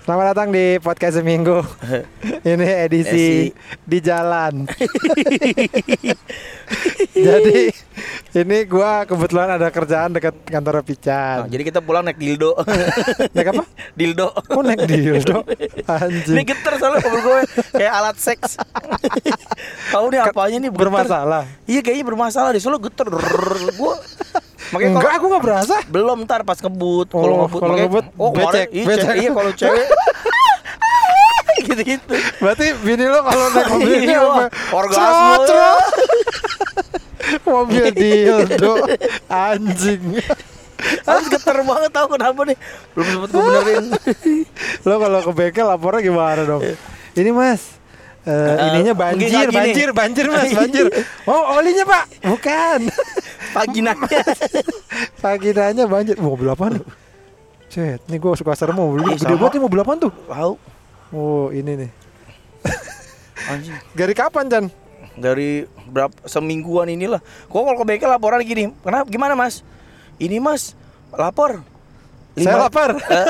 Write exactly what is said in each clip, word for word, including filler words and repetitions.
Selamat datang di podcast seminggu. Ini edisi di jalan. Jadi ini gua kebetulan ada kerjaan dekat kantor Pican. Nah, jadi kita pulang naik dildo. Naik apa? Dildo. Oh, naik dildo. Anjing. Ini geter soalnya mobil gue kayak alat seks. Tahu nih apanya nih bermasalah. Iya kayaknya bermasalah deh, soalnya geter. Gue makanya enggak, aku enggak berasa. Belum, ntar pas ngebut. Oh, kalau ngebut, kalau makanya, ngebut oh, becek, iya, becek. Iya, kalau cewek gitu-gitu. Berarti bini lo kalau naik mobil ini Iya, apa? orgasme. Cerot, cerot. Mobil dildo. Anjing. Harus geter banget, tahu kenapa nih? Belum sempet gue benerin. Lo kalau ke bengkel lapornya gimana dong? Ini mas, uh, uh, ininya banjir, banjir, banjir mas, banjir. Oh, olinya pak? Bukan. Paginanya. Paginanya banjir. Mobil apaan? Cet, nih gue suka serem mobil. Eh, Gede banget nih, mobil apaan tuh? Tahu. Oh, ini nih. Anjing. Dari kapan, Chan? Dari berapa semingguan inilah. Kok kalau ke bengkel laporan gini. Kenapa? Gimana mas? Ini mas lapor. Lima... Saya lapar.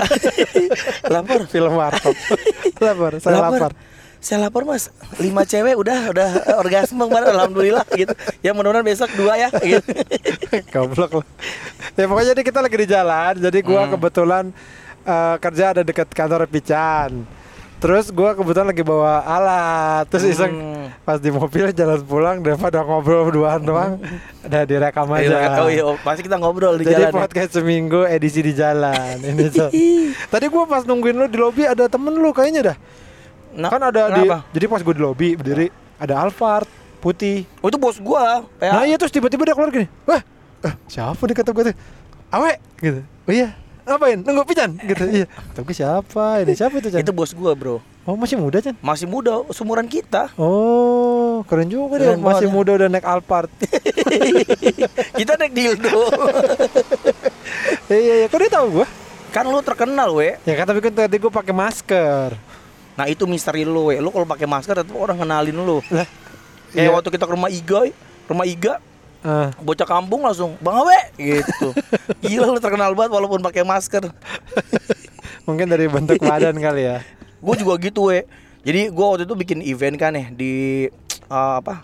Lapor. Film warkop. Lapor. Saya lapar. lapar. Saya lapor mas. Lima cewek udah udah orgasme kemarin. Alhamdulillah gitu. Ya mudah-mudahan besok dua ya. Gitu. Goblok lah. Ya pokoknya jadi kita lagi di jalan. Jadi gua hmm. kebetulan uh, kerja ada dekat kantor Pican. Terus gue kebetulan lagi bawa alat. Terus iseng hmm. pas di mobil jalan pulang, daripada ngobrol berduaan doang, udah direkam aja. Oh iya, oh, pasti kita ngobrol di jadi jalan. Jadi podcast ya? Seminggu edisi di jalan. Ini so. Tadi gue pas nungguin lu di lobi ada temen lu kayaknya dah. Nah, kan ada di. Jadi pas gue di lobi berdiri ada Alphard putih. Oh itu bos gue. Nah iya, terus tiba-tiba dia keluar gini. Wah, eh, siapa nih kata gue tuh? Awe gitu. Oh iya. Ngapain? Nunggu Pican gitu. Iya. Tapi siapa? Ini siapa itu, Chan? Itu bos gua, bro. Oh, masih muda, Chan? Masih muda, seumuran kita. Oh, keren juga keren dia. Masih muda udah naik Alphard. Kita naik dildo. Iya, iya, kok dia tahu gua? Kan lu terkenal, we. Ya kan, tapi kan tadi gua pakai masker. Nah, itu misteri lu, we. Lu kalau pakai masker tetap orang kenalin lu. Lah. Kayak Iya. waktu kita ke rumah Iga, rumah Iga. Uh. Bocah kampung langsung Bang Awe gitu. Gila lu terkenal banget walaupun pakai masker. Mungkin dari bentuk badan kali ya. Gue juga gitu we. Jadi gue waktu itu bikin event kan ya di uh, apa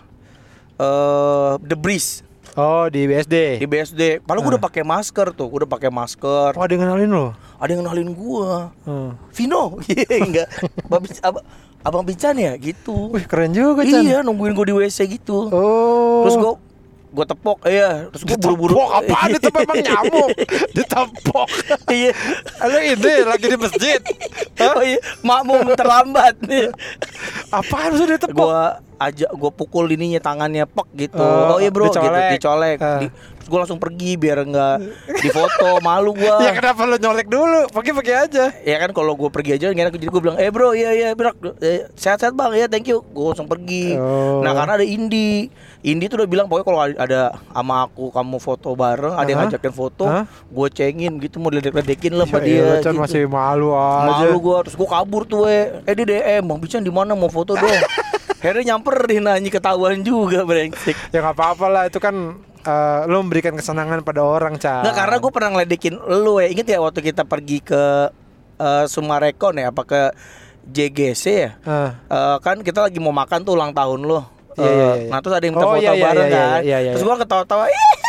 uh, The Breeze. Oh di B S D. Di B S D. Padahal uh. gue udah pakai masker tuh. Gue udah pakai masker. Oh ada yang kenalin lo? Ada yang kenalin gue. Uh. Vino. Enggak. Ab- Abang Pican ya gitu. Wih keren juga Chan. Iya nungguin gue di W C gitu. Oh. Terus gue gue tepok, iya. Terus gue buru-buru. Ditepok apaan itu memang nyamuk? Ditepok. Iya. Halo ini lagi di masjid. Oh iya, makmum terlambat. Apaan sudah ditepok? Gue ajak, gue pukul ininya tangannya pek gitu. Oh, oh iya bro, dicolek. gitu, dicolek. Uh. Di, terus gue langsung pergi biar nggak difoto, malu gue. Ya kenapa lo nyolek dulu? Pergi-pergi aja. Ya kan kalau gue pergi aja nggak enak, jadi gue bilang, eh bro, iya iya bro, eh, sehat-sehat bang, ya thank you. Gue langsung pergi. Oh. Nah karena ada Indi, Indi tuh udah bilang pokoknya kalau ada sama aku kamu foto bareng, ada yang ngajakin foto, huh? gue cengin gitu, mau diledek-ledekin lah sama dia. Gitu. Masih malu aja. Malu gue, terus gue kabur tuh, we. eh di D M, Bang Pican di mana mau foto dong? Akhirnya nyamperin, nanya ketahuan juga brengsek. Ya nggak apa-apa lah, itu kan uh, lo memberikan kesenangan pada orang, Chan. Nggak, karena gue pernah ngeledekin lo ya. Ingat ya waktu kita pergi ke uh, Sumarekon ya, apa ke J G C ya? Uh. Uh, kan kita lagi mau makan tuh ulang tahun lo. Uh, iya, iya, iya. Nah terus ada yang minta oh, foto iya, bareng iya, kan. Iya, iya, iya. Terus gue ketawa-tawa.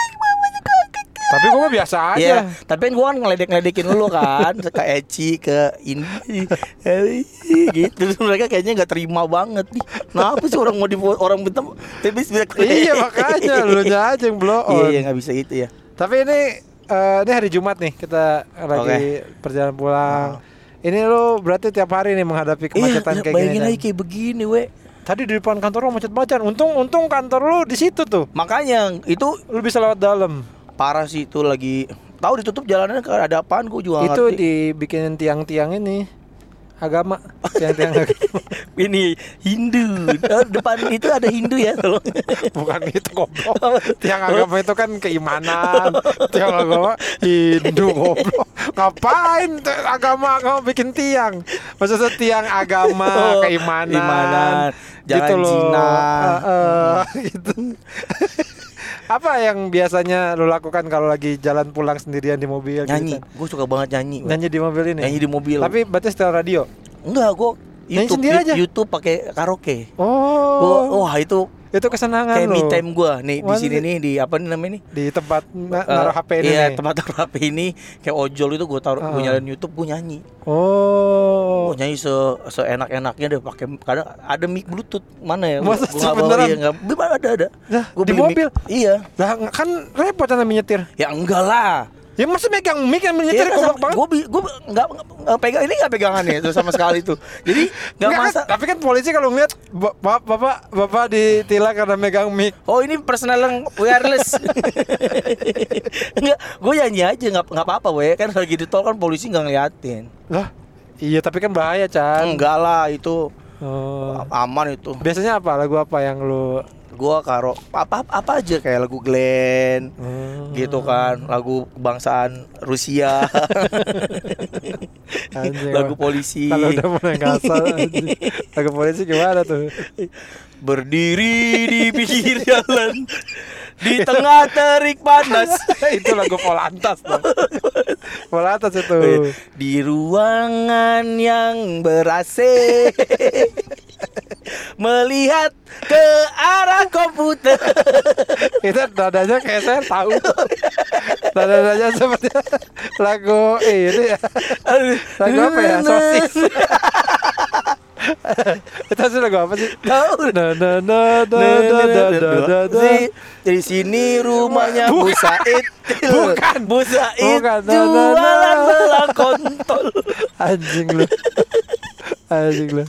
Tapi gue mah biasa aja. Iya, tapi kan gue kan ngeledek-ngeledekin lu kan, ke Eci, ke ini, gitu. Terus mereka kayaknya nggak terima banget nih. Kenapa sih orang mau di orang minta? Iya makanya lu nya aja yang blow on. Iya, iya nggak bisa itu ya. Tapi ini uh, ini hari Jumat nih, kita lagi okay. perjalanan pulang. Oh. Ini lu berarti tiap hari nih menghadapi kemacetan iya, kayak gini. Bayangin aja kayak begini, we. Tadi di depan kantor lu macet-macet. Untung untung kantor lu di situ tuh. Makanya itu lu bisa lewat dalam. Parah sih itu lagi. Tahu ditutup jalanannya ada apaan gue juga itu ngerti. Dibikinin tiang-tiang ini agama. Tiang-tiang agama. Ini Hindu. Oh, depan itu ada Hindu ya tolong. Bukan itu goblok. Tiang agama itu kan keimanan. Tiang agama Hindu goblok. Ngapain agama-agama bikin tiang? Maksudnya tiang agama, oh, keimanan. Keimanan. Jangan gitu loh. zina. Uh, uh, gitu. Apa yang biasanya lu lakukan kalau lagi jalan pulang sendirian di mobil? Nyanyi. Gitu? Gue suka banget nyanyi. Nyanyi di mobil ini. Nyanyi di mobil. Tapi berarti setel radio. Enggak, gue Nyanyi YouTube sendiri aja? YouTube pakai karaoke. Oh. Gua, wah itu itu kesenangan kayak lo. me time gue nih di Wah, sini nih di apa nih namanya nih? Di tempat na- Eh, naruh H P ini. Iya, nih. tempat taruh H P ini kayak ojol itu gue taruh, gue Ah. nyalain YouTube, gue nyanyi. Oh. Gue nyanyi se seenak-enaknya deh pakai kadang ada mic Bluetooth mana ya? Masa Gua nggak bawa, beneran? iya, nggak ada ada. Nah, Gua di beli mic. mobil. Iya. Lah kan repot namanya menyetir. Ya enggak lah. Ya masa megang mic yang menyetir Iya, goblok banget. gue gue nggak nggak pegang ini nggak pegangannya itu sama sekali tuh. Jadi nggak Enggak, masa. kan, tapi kan polisi kalau ngeliat ba- ba- bapak bapak ditilang karena megang mic. Oh ini personal yang wireless. Enggak, gue nyanyi aja nggak nggak apa-apa weh kan lagi di tol kan polisi nggak ngeliatin. Lah, iya tapi kan bahaya, Chan. Enggak lah itu Oh. aman itu. Biasanya apa lagu apa yang lu Gua karo apa apa aja kayak lagu Glenn Hmm. gitu kan, lagu kebangsaan Rusia, Anjing, lagu Bang. polisi. Kalau udah mulai ngasal anjing. Lagu polisi gimana tuh? Berdiri di pinggir jalan di tengah terik panas. Itu lagu Polantas dong. Polantas itu. Di ruangan yang ber-A C melihat ke arah komputer. Itu nadanya kayak saya tahu. Nadanya seperti lagu ini ya. Lagu apa ya? Sosis. Itu sih lagu apa sih? Tahu. Na na na na na na na na na. Di sini rumahnya Bu Bukan. Said. Bukan. Bu Said Bukan. Na, na, na. jualan belah kontol. Anjing lu. Anjing lu.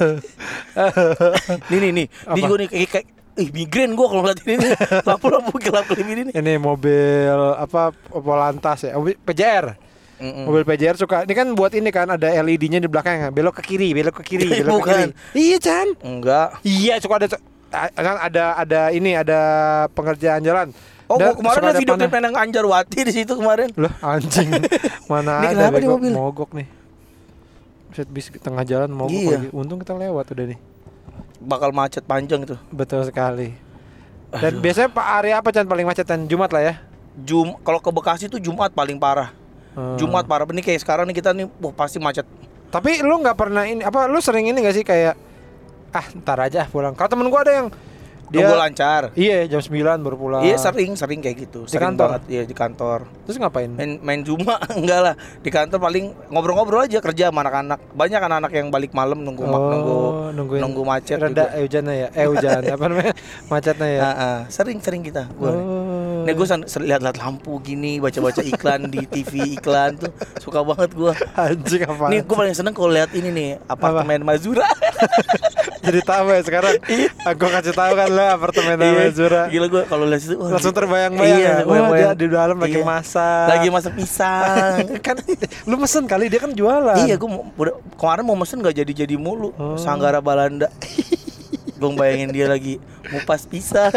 Nih nih nih. Dia Apa? juga nih kayak, kayak ih migrain gua kalau ngeliat ini nih. Lampu-lampu gelap-gelap ini nih. Ini mobil apa Polantas ya? Mobil P J R. Mm-mm. Mobil P J R suka. Ini kan buat ini kan ada L E D-nya di belakang, belok ke kiri, belok ke kiri, belok ke kiri. Bukan. Iya, Chan. Enggak. Iya, suka ada kan ada ada ini ada pengerjaan jalan. Oh, Da- gua kemarin suka ada video panah. klip Neneng Anjarwati di situ kemarin. Loh, anjing. Mana Ini ada kenapa di bego, mobil? mogok nih. Set bis di tengah jalan mogok Iya. lagi. Untung kita lewat udah nih. Bakal macet panjang itu. Betul sekali. Dan Aduh. biasanya Pak Ari apa Chan paling macetan? Jumat lah ya. Jum kalau ke Bekasi tuh Jumat paling parah. Hmm. Jumat parah. Ini kayak sekarang nih kita nih wah pasti macet. Tapi lu nggak pernah ini apa lu sering ini gak sih kayak ah ntar aja pulang. Kalau temen gua ada yang dia Nunggu lancar. iya jam sembilan baru pulang. Iya sering sering kayak gitu. Di Sering kantor? banget iya di kantor. Terus ngapain? Main main Juma enggak lah. Di kantor paling ngobrol-ngobrol aja kerja sama anak-anak. Banyak anak-anak yang balik malam nunggu ma- nunggu nungguin nunggu macet reda juga. eh hujannya ya. Eh hujan apa namanya? Macetnya ya. Ah, ah. Sering-sering kita gua. Oh. Nih gue lihat-lihat lampu gini, baca-baca iklan di T V iklan tuh suka banget gua. Anjing apa? Nih gue paling seneng kalau lihat ini nih apartemen Mazura. Jadi tahu ya sekarang. Aku kasih tahu kan lo apartemen namanya Zura. Gila gue kalau lihat itu wah, Langsung di- terbayang-bayang iya, ya. Wah, bayang-bayang. dia di dalam lagi Iya. masak. Lagi masak pisang. Kan lu mesen kali dia kan jualan. Iya, gue kemarin mau mesen gak jadi-jadi mulu. Oh. Sanggara Balanda. Gue bayangin dia lagi ngupas pisang.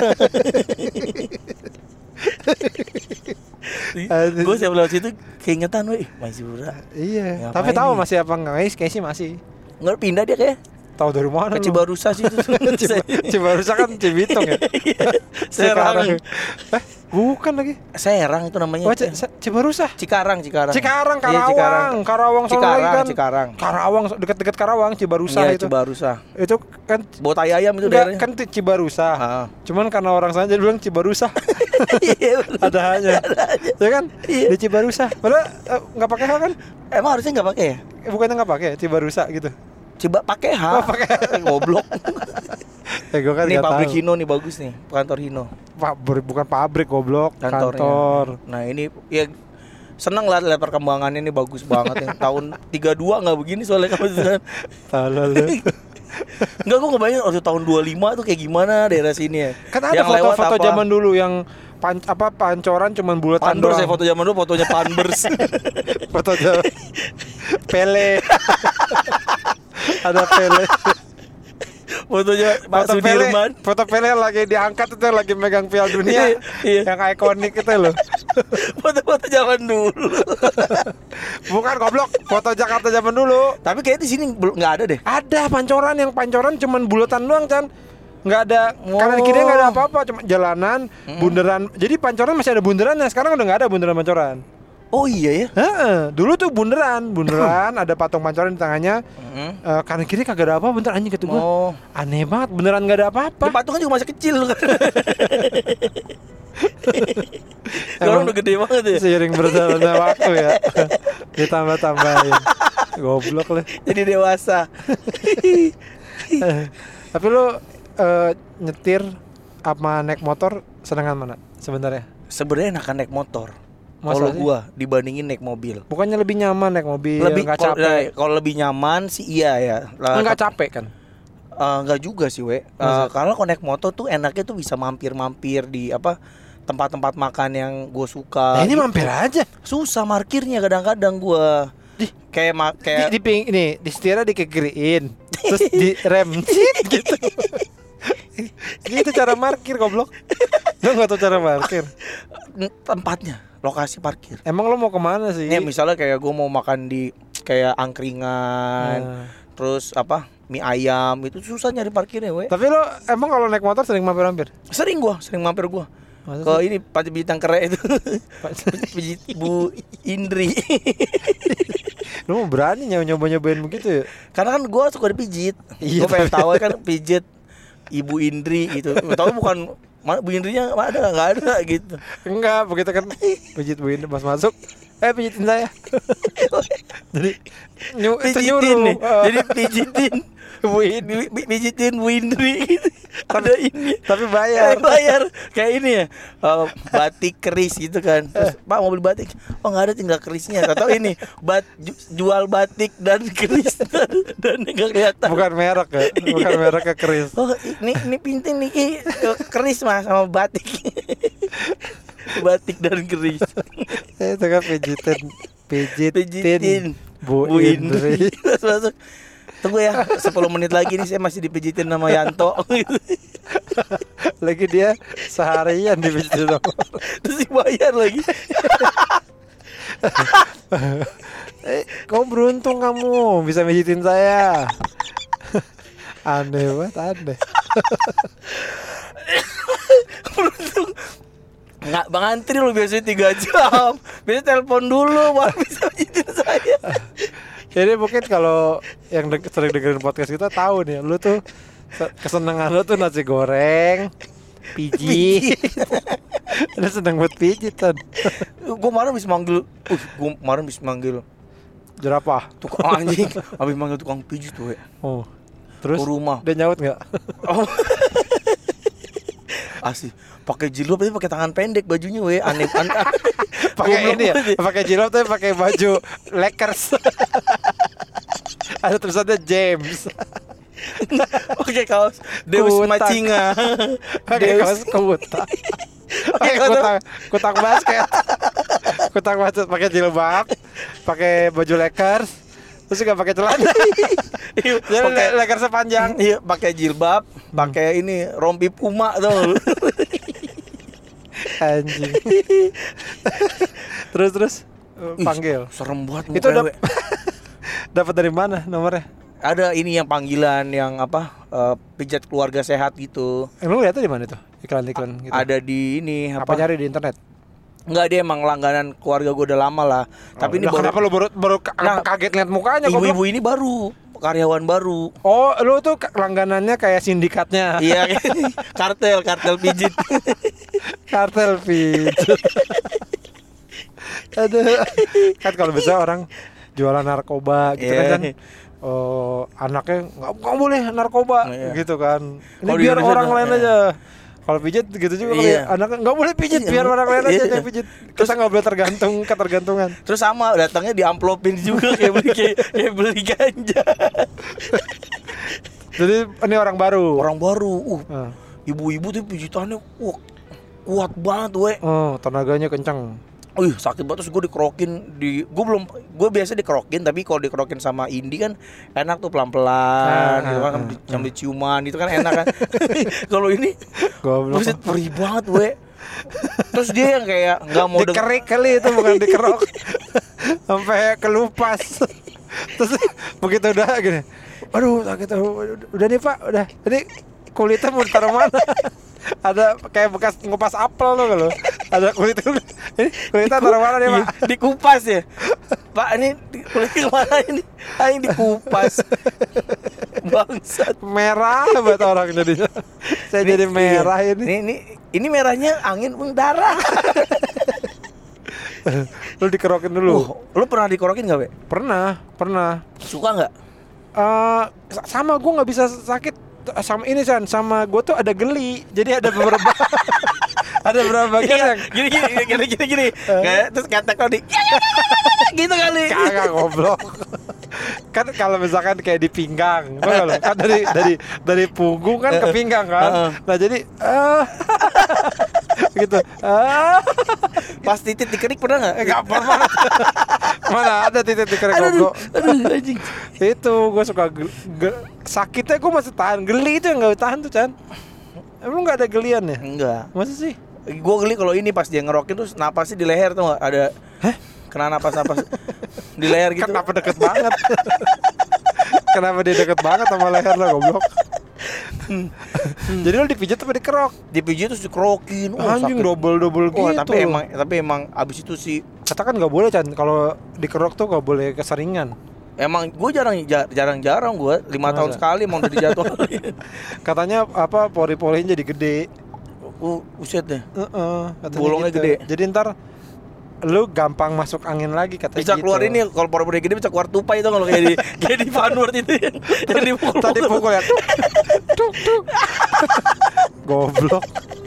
Aduh. Gue siap lewat situ keingetan, weh, Mazura. Iya. Ngapain Tapi tahu nih? masih apa enggak? Guys, kayaknya sih masih. Nggak pindah dia kayak Tahu dari mana ke lu? Cibarusa sih itu. Ciba- Cibarusa kan Cibitung ya. Serang. Eh, bukan lagi. Serang itu namanya. Oh, C- C- Cibarusa. Cikarang, Cikarang. Cikarang, Iya, Karawang, Cikarang. Karawang sono Cikarang, lagi kan. Cikarang. Karawang dekat-dekat Karawang, Cibarusa Iya, itu. Cibarusa. Itu kan Botai ayam itu enggak daerahnya. kan ti- Cibarusa. Ah. Cuman karena orang sana jadi bilang Cibarusa. Iya, bener. Ada hanya. Ya kan? Iya. Di Cibarusa. Padahal eh, nggak pakai H kan? Emang harusnya nggak pakai ya? Eh, bukannya nggak pakai Cibarusa gitu. Coba pakai H. Oh, pakai. Goblok. Eh, gua kan Ini nggak pabrik tahu. Hino nih bagus nih, kantor Hino. Pabrik bukan pabrik goblok, Kantornya. kantor. Nah, ini ya seneng lah lihat perkembangannya ini bagus banget ya. Tahun tiga dua nggak begini soalnya kamu sudah. Salah lu. Enggak, gua ngebayangin waktu tahun dua lima tuh kayak gimana daerah sini ya. Kan ada Yang lewat foto-foto apa? zaman dulu yang pan, apa pancoran cuman bulatan Panbers doang. ya, foto zaman dulu fotonya Panbers. Foto jauh. Pele. Ada Pele. Fotonya Pak Foto Pele. Sudirman. Foto Pele lagi diangkat itu lagi megang Piala Dunia. Iya. Yang ikonik itu loh. Foto-foto zaman dulu. Bukan goblok, foto Jakarta zaman dulu. Tapi kayaknya di sini belum nggak ada deh. Ada pancoran yang pancoran cuman bulatan doang, Chan. nggak ada Oh. kanan kiri nggak ada apa-apa, cuma jalanan, Hmm. bundaran. Jadi pancoran masih ada bundarannya. Sekarang udah nggak ada bundaran pancoran. Oh iya ya. Heeh, dulu tuh bundaran, bundaran ada patung pancoran di tengahnya. Hmm. Eh, kanan kiri kagak ada apa, bentar anjing kata gua. Oh. Aneh banget, beneran nggak ada apa-apa. Di patungnya juga masih kecil kan. Emang Sekarang udah gede banget ya. Seiring berjalannya waktu ya. Ditambah-tambahin. Goblok lah. Jadi dewasa. Tapi lu eh, nyetir apa naik motor senengan mana sebenarnya? Sebenarnya enakan naik motor. Masa Kalau sih? gua dibandingin naik mobil. Bukannya lebih nyaman naik mobil, Lebih nggak kalau capek? nah, kalau lebih nyaman sih iya ya. Lah, Enggak tapi- capek kan? Eh, enggak juga sih, we. Eh, Masa? kalau kalau naik motor tuh enaknya tuh bisa mampir-mampir di apa tempat-tempat makan yang gue suka. Nah, ini gitu. mampir aja. Susah parkirnya kadang-kadang gua. Di- kayak ma- Di, kayak di ping ini, di setirnya dikegeriin, terus di rem cit, gitu. Gitu cara parkir goblok. Lu nggak tahu cara parkir. tempatnya, lokasi parkir. Emang lo mau kemana sih? Ini misalnya kayak gue mau makan di kayak angkringan, Nah. terus apa mie ayam itu susah nyari parkirnya, we. Tapi lo emang kalau naik motor sering mampir-mampir? Sering gua, sering mampir gua. Masa Ke sih? ini pajak bintang kere itu. Pijit Bu Indri. Lu mau berani nyoba-nyobain begitu ya? Karena kan gua suka dipijit. Iya, Gua pengen tapi- tahu kan pijit Ibu Indri gitu. Tahu bukan mana Bu Indrinya ada nggak ada gitu. Enggak, begitu kan pijit Bu Indri pas masuk. Eh pijitin saya. Jadi nyu, itu Pijitin nyuruh. nih. eh, Jadi pijitin Bu Indri. Pi- pijitin Bu Indri gitu. Ada ini. Tapi Bayar, bayar. bayar kayak ini ya, eh, batik keris gitu kan. Terus, Pak mau beli batik? Oh nggak ada, tinggal kerisnya. Atau ini bat ju- jual batik dan keris dan, dan nggak kelihatan. Bukan merek ya, bukan merek ke keris. Oh ini ini pinting nih Ki. Keris mas sama batik. Batik dan keris. Eh, itu kan pijitin, pijitin, Pijitin Bu, Indri. Terus masuk. Tunggu ya, sepuluh menit lagi nih saya masih dipijitin sama Yanto. Lagi dia seharian dipijitin sama. Terus dibayar lagi. Eh, kamu beruntung kamu bisa pijitin saya. Aneh banget, aneh. Beruntung. Nggak bang antri lu biasanya tiga jam. Biasanya telepon dulu baru bisa pijitin saya. Jadi mungkin kalau yang de- sering dengerin podcast kita tahu nih, lu tuh se- kesenangan lu tuh nasi goreng, pijit. Lu seneng buat pijitan. Gue kemarin bisa manggil, uh, gue kemarin bisa manggil Jerapah. tukang anjing, habis manggil tukang pijit tuh, we. Oh. Terus Ke rumah. dia nyaut nggak? Oh. Asli, pakai jilbab tapi pakai tangan pendek bajunya, we. Aneh, aneh. Pakai ini ya, pakai jilbab tapi pakai baju Lakers. Ada tulisannya James. Pakai kaos Deus Kutak. Macinga. Pakai Deus. kaos kutak. Pakai kaos- kutak, kutak basket. Kutak basket pakai jilbab, pakai baju Lakers. Terus juga pakai celana. Iya, Jadi pakai le- Lakers sepanjang. iya, pakai jilbab, pakai ini rompi Puma tuh. Anjing. Terus terus uh, panggil. Serem banget Itu mukanya, we. dap- dapat dari mana nomornya? Ada ini yang panggilan yang apa? eh, pijat keluarga sehat gitu. Eh, lu lihatnya di mana tuh? Iklan-iklan gitu. Ada di ini apa apa? nyari di internet? Enggak, dia emang langganan keluarga gue udah lama lah. Tapi ini Lah, baru kenapa lu baru baru ka- Nah, kaget lihat mukanya goblok? ibu-ibu ini baru karyawan baru. Oh, lu tuh ka- langganannya kayak sindikatnya. Iya, kartel, kartel pijit. Kartel pijit. Aduh. Kan kalau bisa orang jualan narkoba gitu Iya. kan. Oh, anaknya nggak nggak boleh narkoba Iya. gitu kan. Ini Kalau di biar Indonesia orang tuh, lain iya. aja. Kalau pijit gitu juga kali Iya. ya. Anaknya nggak boleh pijit, Iya. biar orang lain aja Iya. yang pijit. Kita nggak boleh tergantung ketergantungan. Terus sama datangnya diamplopin juga kayak beli kayak, kayak beli ganja. Jadi ini orang baru. Orang baru. Uh, Ah. ibu-ibu tuh pijitannya wah, kuat banget, we. Oh, tenaganya kencang. Wih, sakit banget. Terus gue dikerokin di gue belum gue biasa dikerokin, tapi kalau dikerokin sama Indi kan enak tuh pelan-pelan Ah, gitu kan, ah, sambil, sambil ciuman gitu kan enak kan. Kalau ini Goblok. buset perih banget, we. Terus dia yang kayak nggak mau deng- Dikerik kali itu, bukan dikerok. Sampai kelupas. Terus begitu udah gini. Aduh, sakit. Aduh, udah nih Pak, udah. Ini kulitnya mau ditaruh mana? Ada kayak bekas ngupas apel tuh kalau ada kulit ini kulitnya taruh mana nih Pak? Dikupas ya Pak, ini kulitnya mana ini? Ah, ini dikupas. Bangsat. Merah buat orang jadinya. Saya Ini- jadi merah iya. ini. Ini ini ini merahnya angin mendarah. Lu dikerokin dulu. Uh, lu pernah dikorokin nggak, Be? Pernah, pernah. Suka nggak? Eh sa- sama gue nggak bisa sakit sama ini San, sama gue tuh ada geli. Jadi ada beberapa ada beberapa bagian Iya, yang gini gini gini gini gini. Kayak terus kata kau di gitu kali. kagak goblok. Kan kalau misalkan kayak di pinggang, tau nggak lo? Kan dari dari dari punggung kan ke pinggang kan. Heeh. Nah jadi ah gitu. Ah Pas titik dikerik pernah nggak? enggak pernah. Mana ada titik titik Aduh, goblok. aduh, anjing. Itu gue suka gel- ge- sakitnya gue masih tahan, geli itu yang nggak tahan tuh Chan. Emang nggak ada gelian ya? Enggak. Masa sih? Gue geli kalau ini pas dia ngerokin terus napasnya di leher tuh nggak ada. Hah? Kena napas-napas di leher gitu. Kenapa deket banget? Kenapa dia deket banget sama leher lo goblok? Jadi lo dipijat apa dikerok? Dipijit terus dikerokin. Wah, Anjing sakit. double-double gitu. Wah, tapi emang tapi emang abis itu sih katakan nggak boleh Chan, kalau dikerok tuh nggak boleh keseringan. emang gue jarang ja- jarang-jarang gue lima tahun Masa? sekali emang udah dijadwalin. Katanya apa pori-porinya jadi gede. Uh, uset deh. Heeh, katanya Bolongnya gitu. gede. Jadi ntar lu gampang masuk angin lagi katanya Bisa gitu. keluar ini kalau pori-pori gede bisa keluar tupai itu kalau kayak di kayak di Vanward itu yang yang dipukul. Tadi pukul ya. Tuk, tuk, tuk. Goblok.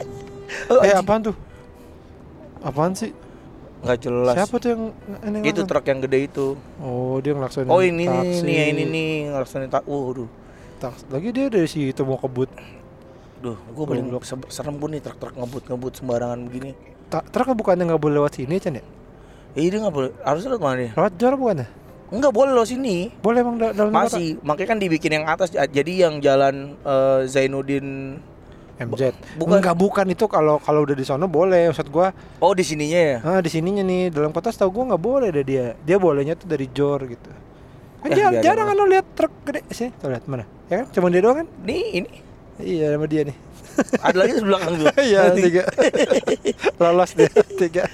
Oh, Eh anjing. apaan tuh? Apaan sih? Nggak jelas. Siapa tuh yang ini Itu ngelakson? truk yang gede itu. Oh dia ngelaksonin Oh ini nih, taksi. nih ya, ini nih ngelaksonin tak. Waduh. Taksi. Lagi dia dari situ mau kebut. Duh, gue paling se- serem gue nih truk-truk ngebut-ngebut sembarangan begini. Ta- Truk bukannya nggak boleh lewat sini Chan ya? Eh, dia nggak boleh. Harusnya lewat mana nih? Lewat jor bukannya? Enggak boleh lo sini. Boleh emang da- dalam kota? Masih, makanya kan dibikin yang atas. Jadi yang jalan eh, Zainuddin. M Z. Bukan. Enggak bukan itu kalau kalau udah di sono boleh. Maksud gua, Oh di sininya ya. ah di sininya nih dalam kota setahu gua nggak boleh deh dia. Dia bolehnya tuh dari jor gitu. Kan Eh, jar- biarin jarang lah. kan lo lihat truk gede sini. Tuh lihat mana? Ya kan? Cuma dia doang kan? Nih ini. Iya sama dia nih. Ada lagi di belakang gue. Iya tiga. Lolos dia tiga.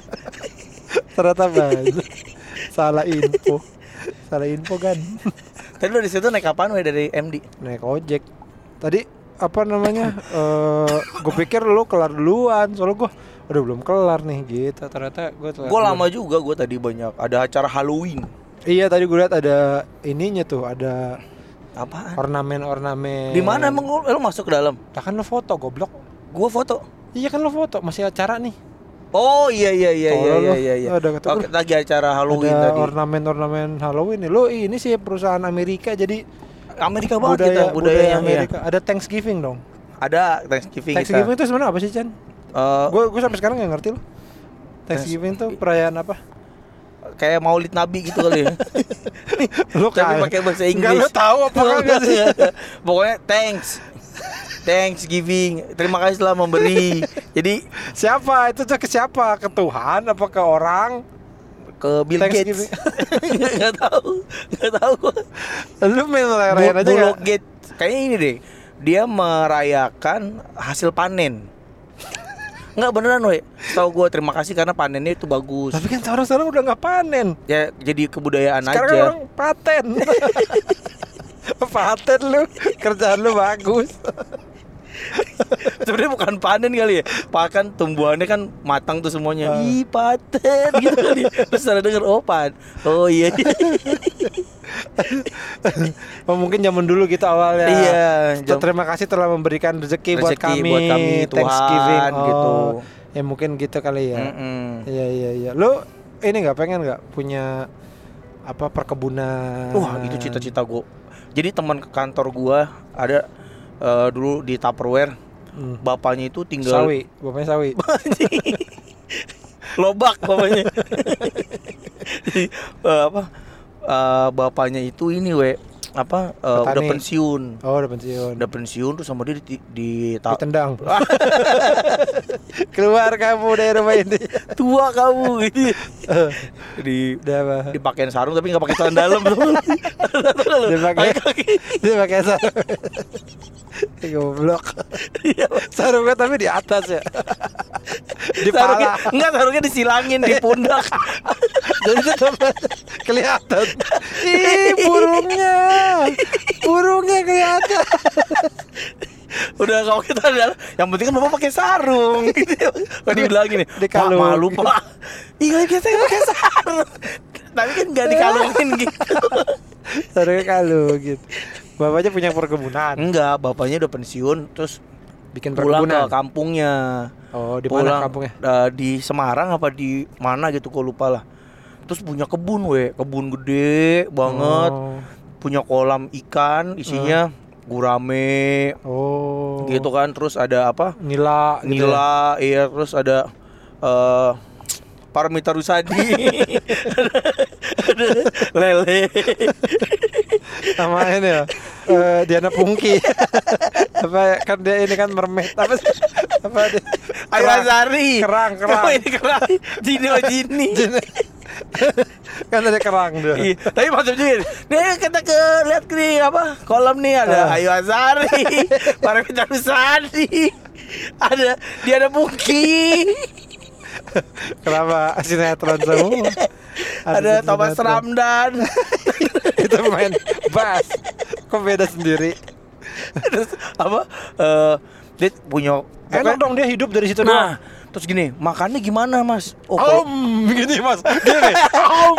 Ternyata banyak. Salah info. Salah info kan. Tadi lo di situ naik apaan we dari M D? Naik ojek. Tadi apa namanya? Eh, gue pikir lu kelar duluan. Soalnya gue udah belum kelar nih gitu. Ternyata gue telat Gue duluan. lama juga, gue tadi banyak. Ada acara Halloween. Iya tadi gue lihat ada ininya tuh, ada Apaan? ornamen-ornamen. Di mana emang lo, lo masuk ke dalam? Lah kan lo foto goblok. Gue foto. Iya kan lo foto, masih acara nih. Oh iya iya iya iya Tolol iya lo. iya. iya. Ada kata Oke, lu. lagi acara Halloween Ada tadi. ornamen-ornamen Halloween nih. Lo ini sih perusahaan Amerika jadi Amerika banget budaya, kita budaya budayanya. Amerika. Iya. Ada Thanksgiving dong. Ada Thanksgiving, Thanksgiving kita. itu sebenarnya apa sih Chan? Eh, Gue gue sampai sekarang nggak ngerti lo. Thanksgiving tuh perayaan apa? kayak Maulid Nabi gitu kali ya. Lo Tapi pakai bahasa Inggris. Enggak lo tahu apa enggak sih? Pokoknya thanks. Thanksgiving. Terima kasih telah memberi. Jadi Siapa? Itu tuh ke siapa? Ke Tuhan apa ke orang? ke Bill Gates. Thanksgiving. Enggak tahu. Enggak tahu gua. Lu main rayain aja Bulog nggak? Gates. Kayaknya ini deh. Dia merayakan hasil panen. Enggak beneran weh. Tahu gue terima kasih karena panennya itu bagus. Tapi kan sekarang-sekarang udah nggak panen. Ya jadi kebudayaan Sekarang aja. kan orang paten. Paten lu, kerjaan lu bagus. Sebenarnya bukan panen kali ya. Pakan tumbuhannya kan matang tuh semuanya. Ah. Ih paten gitu kali. Terus ada denger oh pan. Oh iya. Oh, mungkin zaman dulu gitu awalnya. Iya, So, jam- terima kasih telah memberikan rezeki, buat Rezeki kami. buat kami, Tuhan, Thanksgiving oh, gitu. Ya mungkin gitu kali ya. Mm-mm. Iya iya iya. Lu ini nggak pengen nggak punya apa perkebunan? Wah itu cita-cita gue. Jadi teman ke kantor gua ada eh, dulu di Tupperware. Hmm. Bapaknya itu tinggal Sawi, bapaknya sawi. lobak bapaknya. Jadi, eh, apa eh, bapaknya itu ini we apa eh, udah Petani. pensiun. Oh, udah pensiun. Udah pensiun tuh sama dia di, di, ta- Ditendang. Keluar kamu dari rumah ini. tua kamu gitu. di Udah apa? dipakein sarung tapi nggak pakai celana dalam. Dia pakai dia pakai sarung. Goblok. Sarungnya tapi di atas ya. Di Sarungnya, pala. enggak, sarungnya disilangin di pundak. Jadi tetap kelihatan. Ih, burungnya. Burungnya kelihatan. Udah kalau kita adalah yang penting kan bapak pakai sarung gitu. Kalau dibilang gini, Pak malu Pak. Iya biasanya pakai sarung. Tapi kan nggak dikalungin gitu. Sarungnya kalung gitu. Bapaknya punya perkebunan. Enggak, bapaknya udah pensiun terus Bikin pulang perkebunan. ke kampungnya. Oh, di Pulang, mana kampungnya? uh, di Semarang apa di mana gitu, gue lupa lah. Terus punya kebun, we, kebun gede banget. Oh. Punya kolam ikan, isinya gurame. Oh. Gitu kan, terus ada apa? Nila, gitu ya? Nila, iya, terus ada uh, Paramita Rusadi. Ada lele. Sama ini ya. eh, Diana Pungki. Apa kan dia ini kan mermaid apa sih? Apa dia? Ayu Azari. Kerang, kerang. Oh, ini kerang. Jini oh Jini. Kan ada kerang dia. Iya, tapi maksud juga nih kita ke lihat nih apa kolam nih ada Ah. Ayu Azari, Paramita Rusadi, ada Diana Pungki, Kenapa sinetron semua? ada sinetron. Thomas Ramdan. Itu main bass. Kok beda sendiri? Terus apa? eh dia punya Enak dong dia hidup dari situ Nah, doang. terus gini, makannya gimana, Mas? Oh, Om, gini Mas. Gini. Om.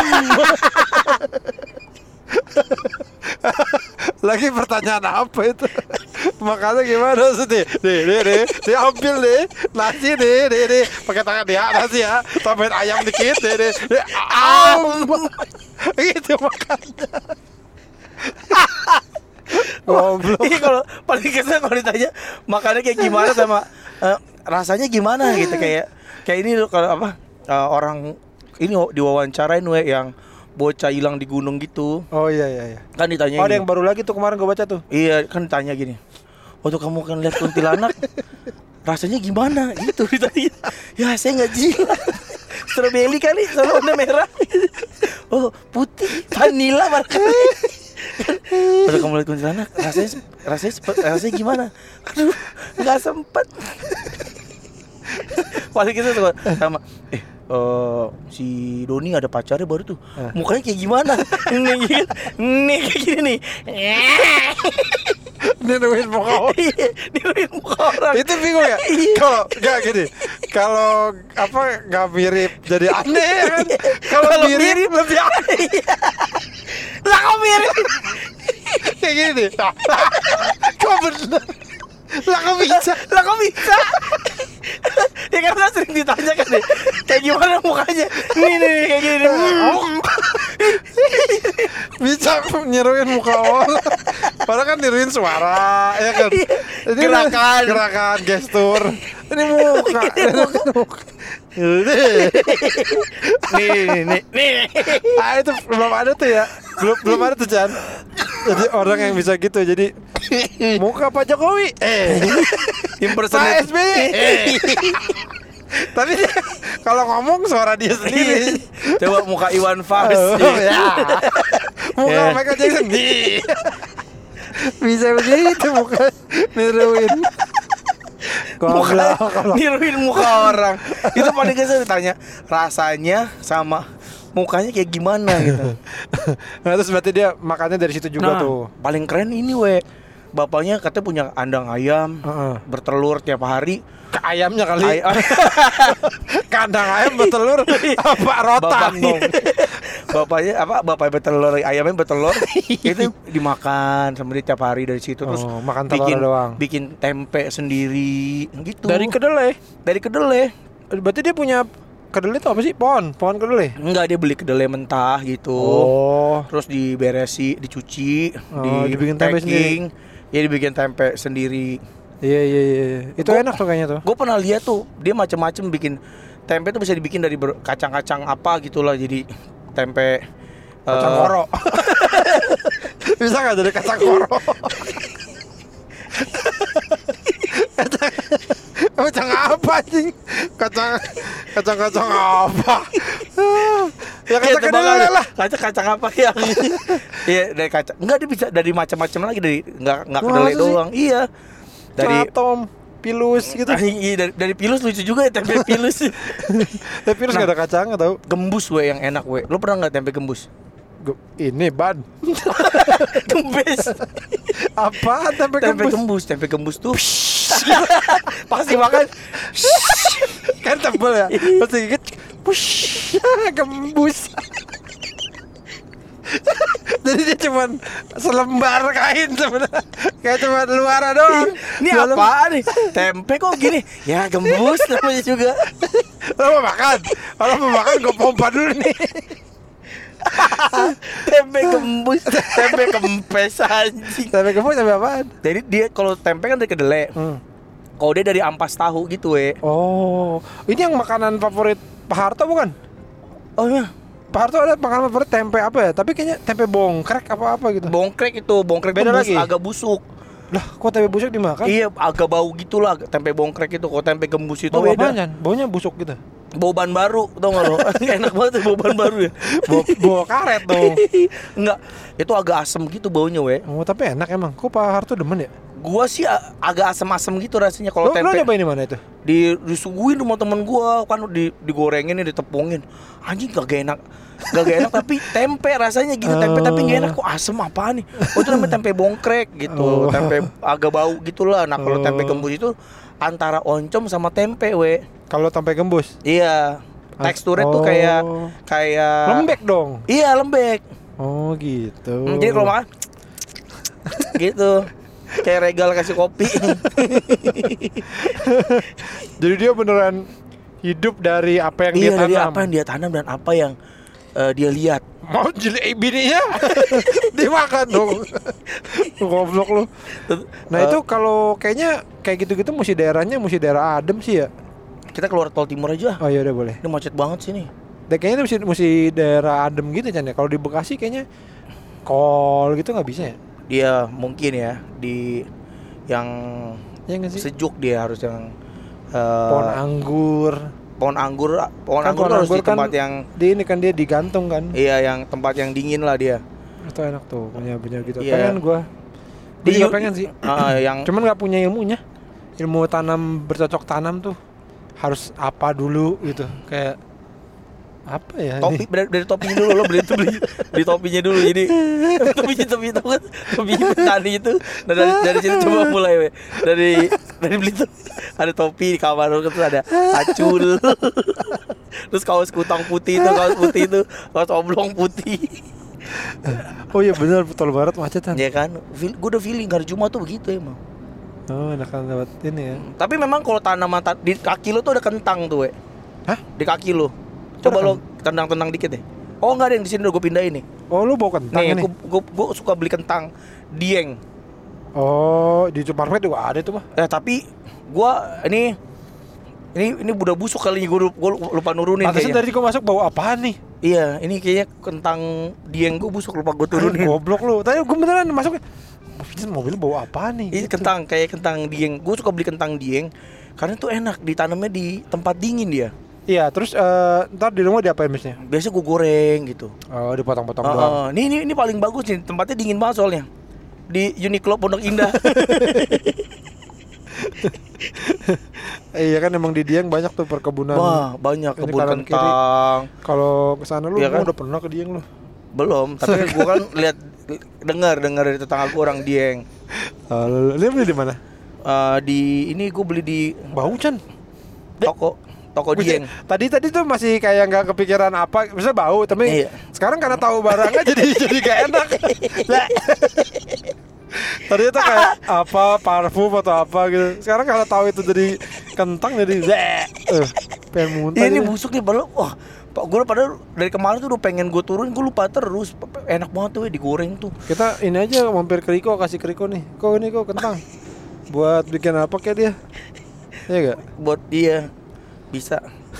Lagi pertanyaan apa itu? Makanya gimana sih? Nih, nih, nih, nih, diambil nih, nasi nih, nih, nih, pakai tangan dia nasi ya, tambahin ayam dikit, nih, nih, nih, am, gitu makannya. Goblok. Ini kalau paling kesel kalau ditanya makannya kayak gimana sama eh, rasanya gimana gitu, kayak kayak ini loh kalau apa eh, orang ini diwawancarain we yang bocah hilang di gunung gitu. Oh iya iya iya. Kan ditanya Oh, ada gini. yang baru lagi tuh kemarin gue baca tuh. Iya, kan ditanya gini. Waktu kamu kan lihat kuntilanak rasanya gimana? Gitu ditanya. Ya, saya enggak jilat. Strawberry kali, sama warna merah. Oh, putih, vanila barangkali. Waktu kamu lihat kuntilanak rasanya rasanya sempet, rasanya gimana? Aduh, enggak sempet. Paling kita tuh sama eh Uh, si Doni ada pacarnya baru tuh. Eh. Mukanya kayak gimana? Nih gitu. Nih kayak gini nih. Niruin muka orang. Iya, niruin muka orang. Itu bingung ya? Iya. Kalau nggak gini, kalau apa nggak mirip jadi aneh ya kan? Kalau Kalau mirip, mirip lebih aneh. Lah kok mirip? Kayak gini nih. Kok bener? Lah kok bisa? Lah kok bisa? Ya karena sering ditanya kan deh, kayak gimana mukanya? Nih nih kayak gini nih. Hmm. Bisa niruin muka orang. Padahal kan niruin suara, ya kan? Ini Gerakan. gerakan, gestur. Ini muka. Ini muka. Ini. Nih nih nih. Ah, itu belum ada tuh ya. Belum belum ada tuh, Chan. Jadi orang yang bisa gitu. Jadi muka Pak Jokowi, eh Pak Impersonate. S B Y, eh tapi dia kalau ngomong suara dia sendiri. Coba muka Iwan Fals. Oh, ya. Muka Ya. Michael Jackson nih. Bisa begitu muka niruin. Muka Goblok kalau niruin muka orang. Itu paling kesel ditanya rasanya sama mukanya kayak gimana gitu. Nah, terus berarti dia makannya dari situ juga Nah, tuh. paling keren ini we. Bapaknya katanya punya kandang ayam, Heeh. bertelur tiap hari. Ke ayamnya kali. Ay- Kandang ayam bertelur apa rotan dong. Bapaknya apa? Bapaknya bertelur, ayamnya bertelur. Itu dimakan sama dia tiap hari dari situ. Terus Oh, makan telur bikin doang. bikin tempe sendiri gitu. Dari kedelai. dari kedelai. Berarti dia punya kedelai itu apa sih? Pohon, pohon kedelai. Enggak, dia beli kedelai mentah gitu. Oh. Terus diberesi, dicuci, Oh, dibikin tempe packing. Ya dibikin tempe sendiri. Iya iya iya. Itu Gua- enak tuh kayaknya tuh. Gue pernah lihat tuh, dia macam-macam bikin tempe tuh bisa dibikin dari ber- kacang-kacang apa gitulah, jadi tempe Kacang eh, koro. Bisa nggak jadi kacang koro? kacang, kacang apa sih? Kacang kacang kacang apa? ya Iya, kacang tebak kedelai aja. lah. Kacang-kacang apa yang Iya, dari kacang. Enggak, dia bisa dari macam-macam lagi, dari enggak enggak Wah, kedelai masa sih? doang. Iya. Dari Atom, Pilus gitu. Iya, dari, dari Pilus lucu juga ya tempe Pilus. Tapi Pilus Nah, gak ada kacangnya tau. Gembus we yang enak we. Lo pernah nggak tempe gembus? Gu- Ini ban. Gembes. Apa tempe, Tempe gembus? gembus, tempe gembus tuh. Pasti makan. Kan tebel ya. Terus digigit, push, gembus. Jadi dia cuman selembar kain sebenarnya. Kayak cuma luar doang. Ini Dalam- apa nih? Tempe kok gini? Ya gembus namanya juga. Lo mau makan? Kalau mau makan gue pompa dulu nih. Tempe gembus, tempe kempes anjing. Tempe gembus tempe apaan? Jadi dia kalau tempe kan dari kedelai. Hmm. Kalau dia dari ampas tahu gitu we. Oh, ini yang makanan favorit Pak Harto bukan? Oh iya. Pak Harto ada makanan favorit tempe apa ya? Tapi kayaknya tempe bongkrek apa-apa gitu. Bongkrek itu, bongkrek Beda itu bus, lagi? agak busuk. Lah, kok tempe busuk dimakan? Iya, agak bau gitulah tempe bongkrek itu. Kalau tempe gembus itu Bau beda. apaan? Baunya busuk gitu. Bau ban baru, tau gak lo? Enak banget tuh bau ban baru ya. Bau, bau karet dong. Enggak, itu agak asem gitu baunya we. Oh, tapi enak emang. Kok Pak Harto demen ya? Gua sih a- agak asem-asem gitu rasanya kalau Lo, lo tempe. nyobain di mana itu? Di disuguhin sama temen gua kan di digorengin nih, ditepungin. Anjing gak enak. Gak enak tapi tempe rasanya gitu, tempe tapi gak enak kok asem apaan nih. Oh itu namanya tempe bongkrek gitu. Oh. Tempe agak bau gitulah. Nah, kalau Oh. tempe gembus itu antara oncom sama tempe we. Kalau tempe gembus? Iya. Teksturnya tuh Oh. kayak kayak Lembek dong. Iya, lembek. Oh, gitu. Hmm, jadi kalau makan gitu. Kayak regal kasih kopi. Jadi dia beneran hidup dari apa yang Iya, dia tanam. dari apa yang dia tanam dan apa yang eh, dia lihat. Mau jeli bininya dimakan dong. Goblok lu. Nah, Eh, itu kalau kayaknya kayak gitu-gitu mesti daerahnya mesti daerah adem sih ya. kita keluar tol timur aja. Oh iya udah boleh. Ini macet banget sih nih. Dan kayaknya itu mesti, mesti daerah adem gitu kan ya. Kalau di Bekasi kayaknya kol gitu nggak bisa ya. Dia mungkin ya di yang Ya nggak sih? sejuk dia harus yang eh, Pohon anggur. pohon anggur, pohon Kan anggur pohon tuh harus anggur di kan tempat yang Di ini kan dia digantung kan. iya yang tempat yang dingin lah dia. Itu enak tuh punya punya gitu. Iya. Pengen gua. Di Dia juga pengen sih. Ah, yang Cuman nggak punya ilmunya. Ilmu tanam bercocok tanam tuh harus apa dulu gitu. Kayak apa ya? topi ini? dari, dari topinya dulu lo beli itu beli beli topinya dulu jadi topinya topi itu kan topi petani itu nah, dari dari situ coba mulai we. dari dari beli tuh ada topi di kamar lo terus ada acul terus kaos kutang putih itu kaos putih itu kaos oblong putih Oh iya benar betul banget macetan. ya kan gue udah feeling hari Jumat tuh begitu emang. Oh enakan lewat ini ya. Tapi memang kalau tanaman ta- di kaki lo tuh ada kentang tuh we. Hah? Di kaki lo coba Ada lo tendang-tendang dikit deh. Oh enggak ada yang di sini udah gue pindahin nih. Oh lu bawa kentang Nih, ini? gue, gue, gue suka beli kentang dieng. Oh di supermarket juga ada tuh mah. Eh tapi gue ini ini ini udah busuk kali gue gue lupa nurunin Pantesan kayaknya. tadi gua masuk bawa apaan nih? Iya, ini kayaknya kentang dieng gue busuk lupa gue turunin. Goblok lu. Tadi gua beneran masuk. Pantesan mobil bawa apaan nih? Ini Gitu. kentang kayak kentang dieng. Gue suka beli kentang dieng karena tuh enak ditanamnya di tempat dingin dia. Iya terus eh, ntar di rumah diapain misnya? Biasa gue goreng gitu. Oh dipotong-potong Uh, doang. uh, ini, ini ini paling bagus nih, tempatnya dingin banget soalnya. Di Uniqlo Pondok Indah. Iya kan emang di Dieng banyak tuh perkebunan. Wah, banyak Ini kebun kanan kiri. kentang. Kalau kesana lu Iya gua kan? udah pernah ke Dieng lu. Belum, tapi gue kan lihat dengar dengar dari tetangga gue orang Dieng. Oh, lu, lu beli di mana? Uh, di ini gue beli di Bau Chan. toko toko Dieng. Tadi tadi tuh masih kayak nggak kepikiran apa, bisa bau, tapi Iya. sekarang karena tahu barangnya jadi jadi gak enak. Tadi itu kayak apa parfum atau apa gitu. Sekarang kalau tahu itu jadi kentang jadi uh, pengen muntah. Ini jadi. busuk nih padahal wah, Pak gue padahal dari kemarin tuh udah pengen gue turun, gue lupa terus. Enak banget tuh digoreng tuh. Kita ini aja mampir ke Riko, kasih ke Riko nih. Kok ini kok kentang. Buat bikin apa kayak dia? Iya gak? Buat dia bisa.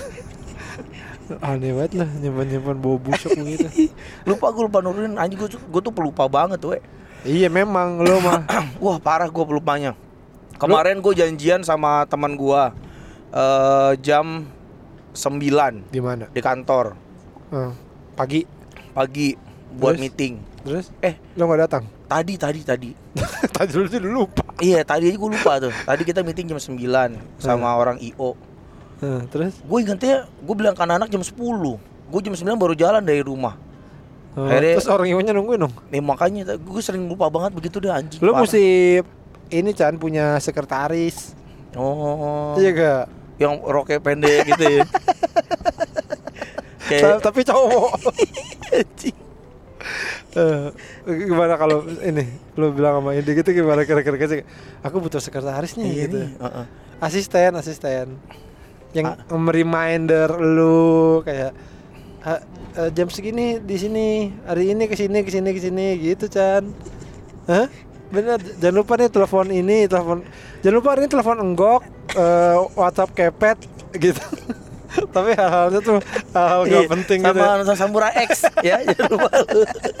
Aneh banget lah nyimpan-nyimpan bau busuk begitu. Lupa gue lupa nurunin anjing gue gue tuh pelupa banget tuh. Iya memang lo mah. Wah parah gue pelupanya. Kemarin gue janjian sama teman gue uh, jam sembilan Di mana? di kantor Eh, pagi. pagi. buat Terus? meeting. Terus? Eh, Lo nggak datang? tadi tadi tadi. Tadi dulu sih dulu lupa. Iya, tadi aja gue lupa tuh. Tadi kita meeting jam sembilan sama Hmm. orang I O. Nah, terus? Gue ingatnya, gue bilang ke anak-anak jam sepuluh. Gue jam sembilan baru jalan dari rumah. Oh, Akhirnya- terus orang iwonya nungguin dong. Nih makanya gue sering lupa banget begitu deh anjing. Lo parah. mesti ini Chan punya sekretaris. Oh. Iya gak? Yang roknya pendek gitu ya. Ta- Kayak Tapi cowok. anjing. Eh, gimana kalau ini lo bilang sama Indi gitu gimana kira-kira sih? Aku butuh sekretaris nih Iya gitu. nih, heeh. Asisten, asisten. Yang Ah. reminder lu kayak "Ah, eh, jam segini di sini, hari ini ke sini ke sini ke sini gitu, Chan. Hah? Bener, jangan lupa nih telepon ini, telepon. Jangan lupa ini telepon enggok, eh, WhatsApp kepet gitu. Tapi hal-halnya tuh hal-hal gak Iya, penting sama gitu. ya. Nusa Samurai X ya, jangan lupa lu.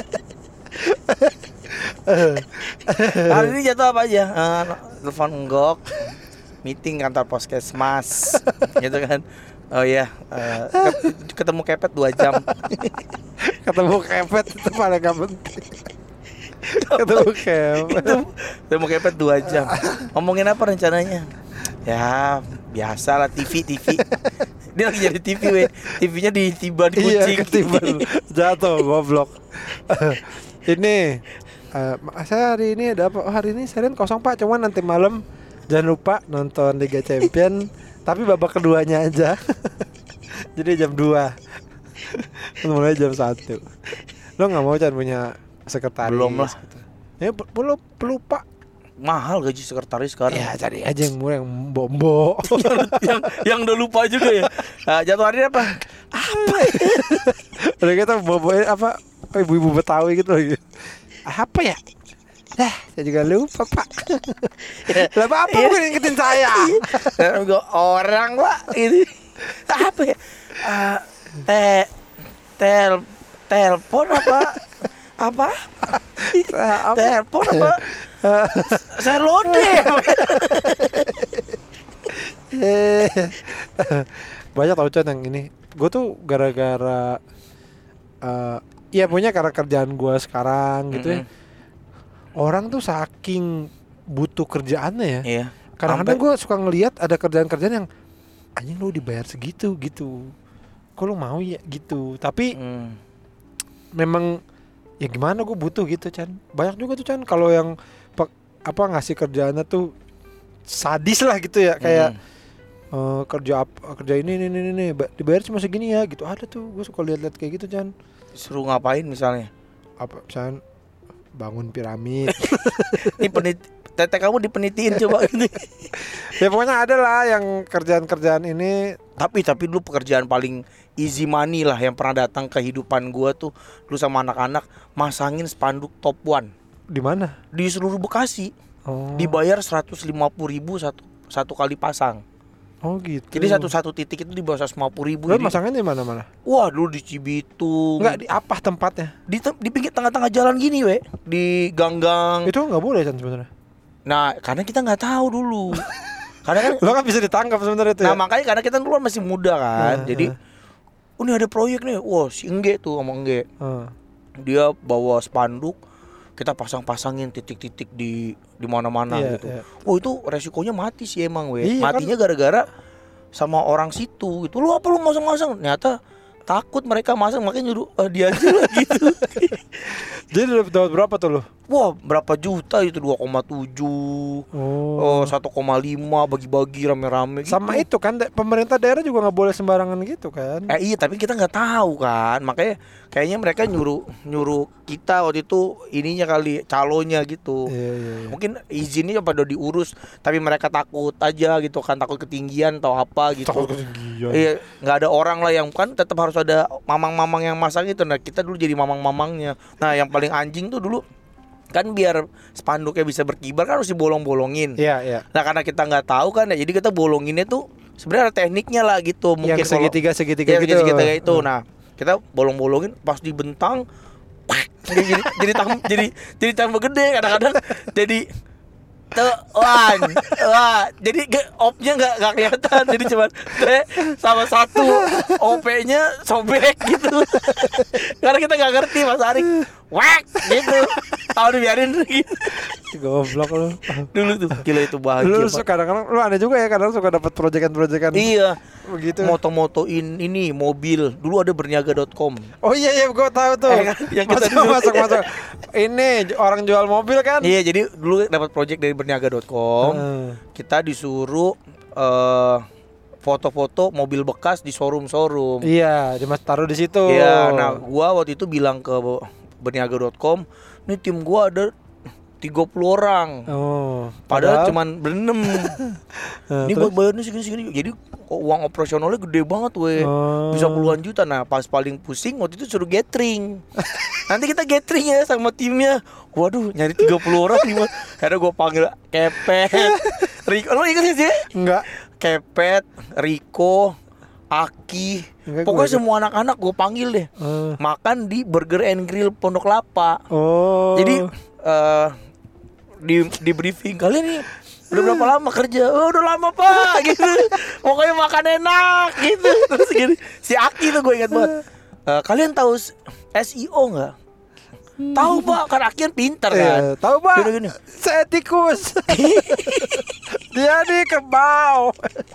Hari ini jatuh apa aja? Eh, telepon enggok, meeting kantor Puskesmas, gitu kan. Oh iya, eh, ke- ketemu kepet dua jam. Ketemu kepet itu paling gak penting. Ketemu kepet. Ketemu kepet dua jam. Ngomongin apa rencananya? Ya, biasa lah T V T V. Dia lagi jadi T V weh. T V-nya ditiban Iya, kucing. ketiban jatuh goblok. Ini eh, saya hari ini ada apa? Oh, hari ini Senin kosong Pak, cuman nanti malam jangan lupa nonton Liga Champion tapi babak keduanya aja. Jadi jam dua. Mulai jam satu. Lo nggak mau Chan punya sekretaris? Belum lah. Gitu. Ya be- belum belum Pak. Mahal gaji sekretaris sekarang. Ya cari aja yang murah yang bombo. yang yang udah lupa juga ya. Nah, jatuh hari ini apa? Udah kita boboin apa ibu-ibu Betawi gitu lagi. Apa ya? Dah, saya juga lupa Pak. Lah Bapak Iya. bukan ingetin saya. Nah, gua orang Pak ini. Apa ya? Ah, te tel telepon apa? Apa? Apa? Telepon apa? Saya lode. Eh, banyak tau Chan yang ini. Gue tuh gara-gara eh iya punya karena kerjaan gue sekarang gitu ya. Orang tuh saking butuh kerjaannya ya. Iya. Kadang-kadang Sampai- gue suka ngelihat ada kerjaan-kerjaan yang anjing lu dibayar segitu gitu. Kok lu mau ya gitu. Tapi Hmm. memang ya gimana gue butuh gitu Chan. Banyak juga tuh Chan kalau yang pe- apa ngasih kerjaannya tuh sadis lah gitu ya kayak Hmm. eh, kerja apa kerja ini ini ini ini ba- dibayar cuma segini ya gitu. Ada tuh gue suka lihat-lihat kayak gitu Chan. Suruh ngapain misalnya? Apa misalnya bangun piramid. Ini penit tete kamu dipenitiin coba gitu. Ya pokoknya ada lah yang kerjaan-kerjaan ini. Tapi tapi dulu pekerjaan paling easy money lah yang pernah datang ke kehidupan gua tuh dulu sama anak-anak masangin spanduk top one Di mana? di seluruh Bekasi. Oh. Dibayar seratus lima puluh ribu satu satu kali pasang. Oh gitu. Jadi satu-satu titik itu di bawah seratus lima puluh ribu. Lo Jadi, masangnya di mana-mana? wah dulu di Cibitung. Enggak di apa tempatnya? di, tem- di pinggir tengah-tengah jalan gini we, di gang-gang. Itu nggak boleh Chan sebenarnya. Nah, karena kita nggak tahu dulu. Karena kan Lo kan bisa ditangkap sebenarnya itu. nah ya? makanya karena kita dulu kan masih muda kan. Nah, Jadi nah. oh, ini ada proyek nih. Wah, si Engge tuh sama Engge. Ah. Dia bawa spanduk, kita pasang-pasangin titik-titik di di mana-mana Iya, gitu. iya. Oh, itu resikonya mati sih emang we. Iya, Matinya gara-gara sama orang situ gitu. Lu apa lu masang-masang? Ternyata takut mereka masang makanya nyuruh "Ah, dia aja lah gitu. Jadi dapat dapat berapa tuh lo? Wah, berapa juta itu dua koma tujuh. Oh, satu koma lima bagi-bagi rame-rame gitu. Sama itu kan da- pemerintah daerah juga nggak boleh sembarangan gitu kan. Eh iya, tapi kita nggak tahu kan. Makanya kayaknya mereka nyuruh nyuruh kita waktu itu ininya kali calonnya gitu. Iya iya iya. Mungkin izinnya pada diurus, tapi mereka takut aja gitu kan, takut ketinggian atau apa gitu. Takut ketinggian. Iya, nggak ada orang lah yang kan tetap harus ada mamang-mamang yang masang itu. Nah, kita dulu jadi mamang-mamangnya. Nah, yang paling anjing tuh dulu kan biar spanduknya bisa berkibar kan harus dibolong-bolongin. Iya iya. Nah, karena kita nggak tahu kan ya, jadi kita bolonginnya tuh sebenarnya ada tekniknya lah gitu. Mungkin Yang segitiga segitiga ya, gitu. segitiga itu. Nah, kita bolong-bolongin pas dibentang jadi jadi jadi, tam, jadi jadi tambah gede kadang-kadang jadi Tuh, one. Wah, jadi ge- op-nya enggak enggak kelihatan. Jadi cuma T sama satu O P-nya sobek gitu. Karena kita enggak ngerti Mas Arik. Wek gitu. Tahu dibiarin gitu. Goblok lu. Dulu tuh gila itu bahagia. Lu Pak. suka kadang-kadang lu aneh juga ya, kadang suka dapat proyekan-proyekan. Iya. Begitu. Moto-motoin ini mobil. Dulu ada berniaga dot com. Oh iya iya gua tahu tuh. Eh, kan? Yang kita masuk, dulu- masuk masuk. Ini orang jual mobil kan? Iya, jadi dulu dapat project dari berniaga dot com. Hmm. Kita disuruh eh, foto-foto mobil bekas di showroom-showroom. Iya, Dimas taruh di situ. Iya, nah gua waktu itu bilang ke berniaga dot com, "Nih tim gua ada tiga puluh orang." Oh. Padahal cuman berenam. Nah, Ini terus? buat bayarnya segini-segini. Jadi kok uang operasionalnya gede banget weh. Oh. Bisa puluhan juta. Nah pas paling pusing waktu itu suruh gathering. Nanti kita gathering ya sama timnya. Waduh nyari tiga puluh orang gimana. Akhirnya gue panggil Kepet Riko. Lo ingat gak sih? Enggak. Kepet, Riko, Aki. Enggak, Pokoknya gua ingat. semua anak-anak gue panggil deh. Eh. Makan di Burger and Grill Pondok Lapa. Oh. Jadi eh di di briefing kalian nih udah berapa lama kerja? Oh, udah lama pak, gitu. Pokoknya makan enak, gitu. Terus gini, si Aki tuh gue ingat banget. Eh, kalian tahu S E O nggak? Tahu pak, kan Aki kan pinter kan. Eh, tahu Pak? Gini, gini. Saya tikus. Dia nih kerbau.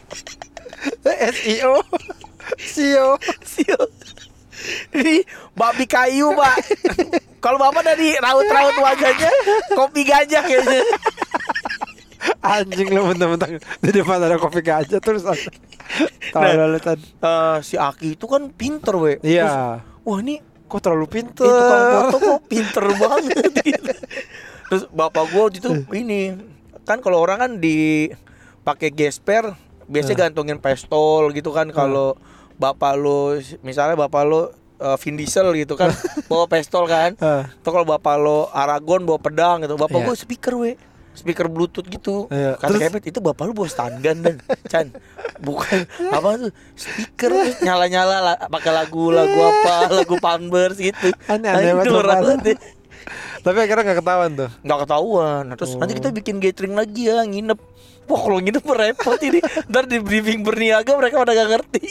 S E O. S E O. Sial. Ini babi kayu pak. Kalau bapak dari raut-raut wajahnya kopi gajah kayaknya. Anjing lu mentang-mentang di depan ada kopi gajah terus. Tahu Nah, lalu tadi. Eh, si Aki itu kan pinter weh. Iya. Terus, wah ini Kok terlalu pinter. itu tukang foto kok pinter banget gitu. Terus bapak gua waktu itu ini kan kalau orang kan di pakai gesper biasanya gantungin pistol gitu kan. Kalau bapak lo misalnya bapak lo uh, Vin Diesel gitu kan bawa pistol kan. Ah. Atau kalau bapak lo Aragon bawa pedang gitu. Bapak Iya. gua speaker we. Speaker Bluetooth gitu. Iya. Kata Terus- Kepet itu bapak lu bawa stun gun dan Chan. Bukan apa tuh speaker terus nyala-nyala lah, pakai lagu-lagu apa, lagu Pampers gitu. Aneh-aneh Nah, itu banget, orang Bapak. banget. Tapi akhirnya gak ketahuan tuh. Nggak ketahuan. Nah, terus Oh. nanti kita bikin gathering lagi ya, nginep. Wah kalau nginep repot ini. Ntar di briefing berniaga mereka pada gak ngerti.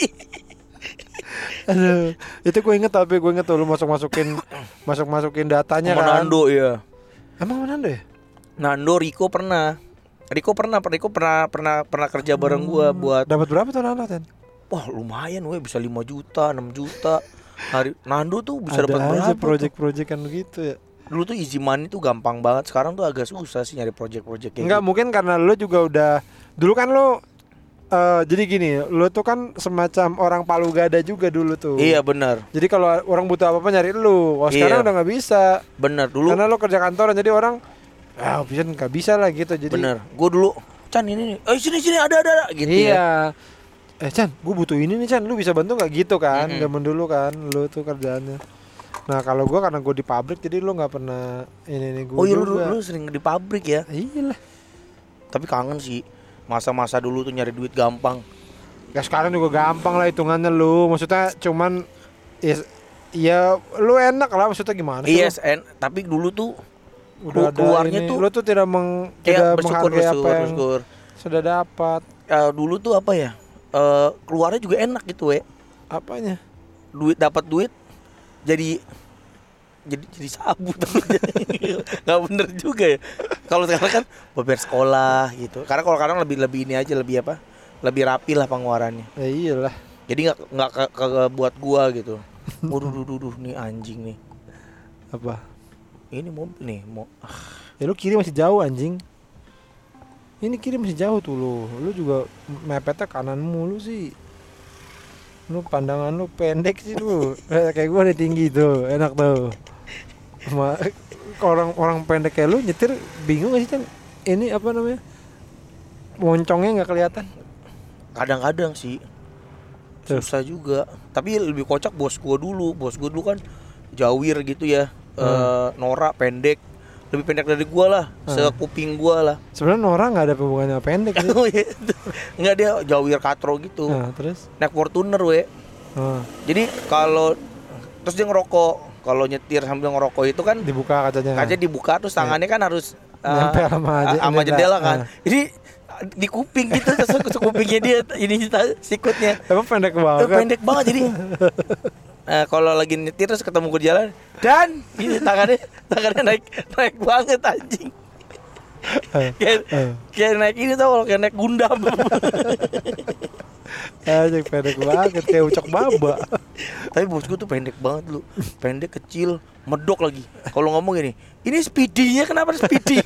Aduh, itu gue inget tapi gue inget tuh lu masuk masukin masuk masukin datanya Sama kan. Nando ya. Emang mana Nando ya? Nando, Riko pernah. Riko pernah, Riko pernah pernah pernah kerja bareng gua buat. Dapat berapa tuh Nando Ten? Wah lumayan weh, bisa lima juta, enam juta. Hari Nando tuh bisa Ada dapat aja berapa? tuh? project-projectan gitu ya. Dulu tuh easy money tuh gampang banget. Sekarang tuh agak susah sih nyari project-project kayak Enggak, gitu. mungkin karena lu juga udah dulu kan lu eh, jadi gini, lu tuh kan semacam orang palu gada juga dulu tuh. Iya benar, Jadi kalau orang butuh apa-apa nyari lu. Wah, Iya. sekarang udah nggak bisa. benar dulu. Karena lu kerja kantoran jadi orang ah, bisa nggak bisa lah gitu. Jadi Bener, gue dulu Chan ini nih, eh sini sini ada ada, ada gitu ya. Iya. Eh Chan, gue butuh ini nih Chan, lu bisa bantu nggak gitu kan? Mm-mm. Zaman dulu kan, lu tuh kerjaannya. Nah kalau gue karena gue di pabrik jadi lu nggak pernah ini ini gue Oh iya lu, juga. lu sering di pabrik ya. Iya lah. Tapi kangen sih masa-masa dulu tuh nyari duit gampang. Ya sekarang juga gampang lah hitungannya lu. Maksudnya cuman ya, ya lu enak lah maksudnya gimana sih? Iya, lu? yes, tapi dulu tuh Udah ada keluarnya ini, tuh lu tuh tidak meng, kayak tidak bersyukur menghargai bersyukur apa yang bersyukur. sudah dapat. Eh, dulu tuh apa ya? Eh, keluarnya juga enak gitu we. Apanya? Duit dapat duit jadi jadi jadi sabu nggak bener juga ya. Kalau sekarang kan bayar sekolah gitu. Karena kalau sekarang lebih lebih ini aja lebih apa? Lebih rapi lah pengeluarannya. Ya iyalah. Jadi nggak nggak ke, ke, buat gua gitu. Waduh, duh, duh, duh, nih anjing nih. Apa? Ini mobil nih mau. Ya lu kiri masih jauh anjing. Ini kiri masih jauh tuh lu. Lu juga mepetnya kanan mulu sih. Lu pandangan lu pendek sih lu. Eh, kayak gua nih tinggi tuh, enak tuh. Sama orang orang pendek kayak lu nyetir bingung gak sih Chan? Ini apa namanya? Moncongnya nggak kelihatan. Kadang-kadang sih Tuh. susah juga. Tapi lebih kocak bos gua dulu. Bos gua dulu kan jawir gitu ya. Hmm. Eh, norak pendek. Lebih pendek dari gua lah, Hmm. sekuping gua lah. Sebenarnya orang nggak ada hubungannya sama pendek sih. Oh iya. Enggak, dia jawir katro gitu. Nah, terus? Naik Fortuner we. Nah, Jadi kalau terus dia ngerokok. Kalau nyetir sambil ngerokok itu kan dibuka kacanya. kaca dibuka terus tangannya kan harus nempel sama, uh, sama jendela kan. Uh. Ini di kuping gitu, terus kupingnya dia ini sikutnya. Emang pendek banget. Uh, pendek banget jadi. Nah, kalau lagi nyetir terus ketemu gue di jalan dan ini tangannya tangannya naik naik banget anjing. Kayak kayak naik ini tau kalau kayak naik Gundam. Anjing pendek banget kayak ucok baba. Tapi bos gue tuh pendek banget lu. Pendek kecil, medok lagi. Kalau ngomong gini, ini speedy-nya kenapa Speedy?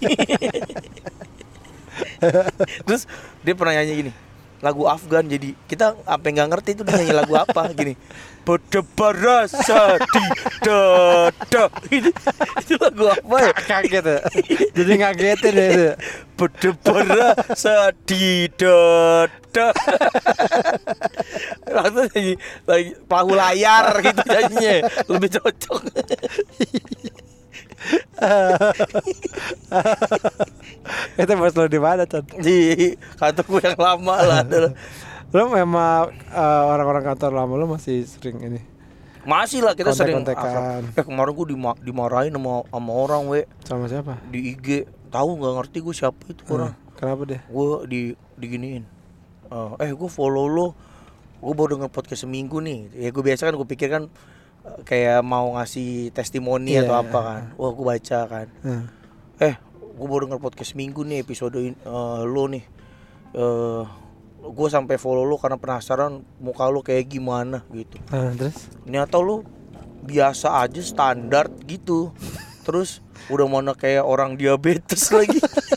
Terus dia pernah nyanyi gini, lagu Afgan, jadi kita sampai nggak ngerti itu dia nyanyi lagu apa gini. Berdebar rasa di dada. Itu, itu lagu apa ya? Kaget ya. Jadi ngagetin ya itu. Berdebar rasa di dada. Langsung nyanyi lagi perahu layar gitu nyanyinya. Lebih cocok. Itu bos lo di mana, Chan? Di kantorku yang lama lah. Lo memang uh, orang-orang kantor lama lo masih sering ini? Masih lah, kita sering kontek-kontekan. Eh kemarin gue dima- dimarahin sama, sama orang we. Sama siapa? Di I G. Tahu nggak ngerti gue siapa itu hmm, orang. Kenapa dia? Gue di diginiin. Uh, eh gue follow lo. Gue baru denger podcast seminggu nih. Ya gue biasa kan gue pikir kan uh, kayak mau ngasih testimoni yeah, atau apa kan. Wah gue baca kan. Hmm. Eh gue baru denger podcast seminggu nih episode uh, lo nih. Uh, gue sampai follow lo karena penasaran muka lo kayak gimana gitu. Uh, terus? Ternyata lo biasa aja standar gitu. Terus udah mana kayak orang diabetes lagi.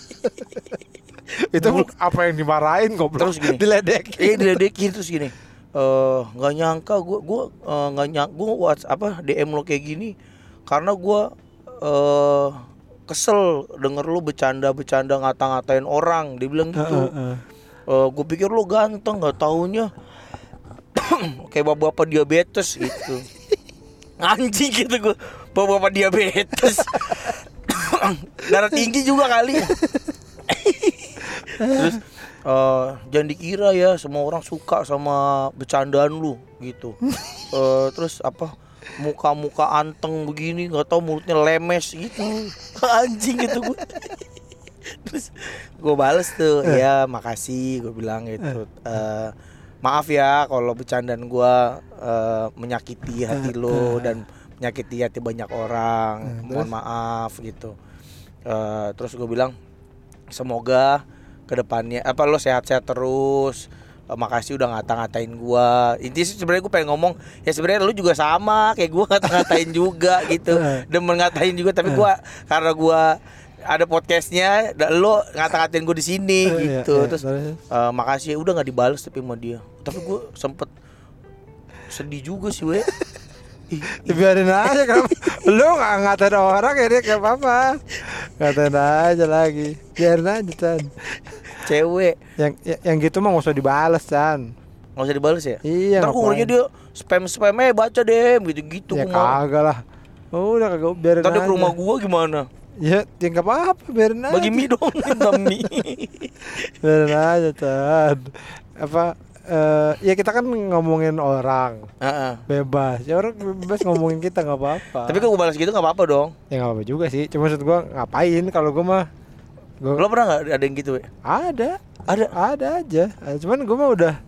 Itu Mul- apa yang dimarahin goblok? Terus gini. Diledekin. Iya diledekin terus gini. Eh nggak uh, nyangka gue gue nggak uh, nyangka gue WhatsApp apa D M lo kayak gini karena gue uh, kesel denger lo bercanda-bercanda ngata-ngatain orang. Dia bilang gitu. Uh, uh, uh. Uh, gue pikir lo ganteng, nggak taunya kayak bapak-bapak diabetes gitu. Anjing gitu gue, bapak-bapak diabetes. Darah tinggi juga kali. Terus uh, jangan dikira ya semua orang suka sama bercandaan lu gitu. Uh, terus apa muka-muka anteng begini nggak tahu mulutnya lemes gitu. Anjing gitu gue. Terus gue bales tuh, ya makasih gue bilang gitu. Uh, maaf ya kalau bercandaan gue uh, menyakiti hati lo dan menyakiti hati banyak orang. Mohon maaf gitu. Uh, terus gue bilang semoga kedepannya apa lo sehat-sehat terus. Uh, makasih udah ngata-ngatain gue. Intinya sebenarnya gue pengen ngomong ya sebenarnya lo juga sama kayak gue ngata-ngatain juga gitu. Demen ngatain juga tapi gue karena gue ada podcastnya, lo ngata-ngatain gue di sini uh, gitu, iya, iya. Terus uh, makasih, udah nggak dibales tapi sama dia. Tapi gue sempet sedih juga sih, we. Biarin aja kan, lo nggak ngatain orang ya dia kayak apa, ngatain aja lagi, biarin aja Chan. Cewek yang yang gitu mah nggak usah dibales Chan. Nggak usah dibales ya? Iya. Ntar gue dia spam spamnya baca deh, gitu-gitu. Ya kagak lah. Oh, udah kagak biarin aja. Tadi ke rumah gue gimana? Ya, ya gak apa-apa, biarin aja. Bagi mie dong, minta mie. Biarin aja, Chan. Apa, uh, ya kita kan ngomongin orang uh-uh. bebas. Ya orang bebas ngomongin kita gak apa-apa. Tapi kalau gue balas gitu gak apa-apa dong. Ya gak apa-apa juga sih, cuma maksud gue ngapain kalau gue mah gua... Lo pernah gak ada yang gitu? We? Ada. Ada? Ada aja, cuman gue mah udah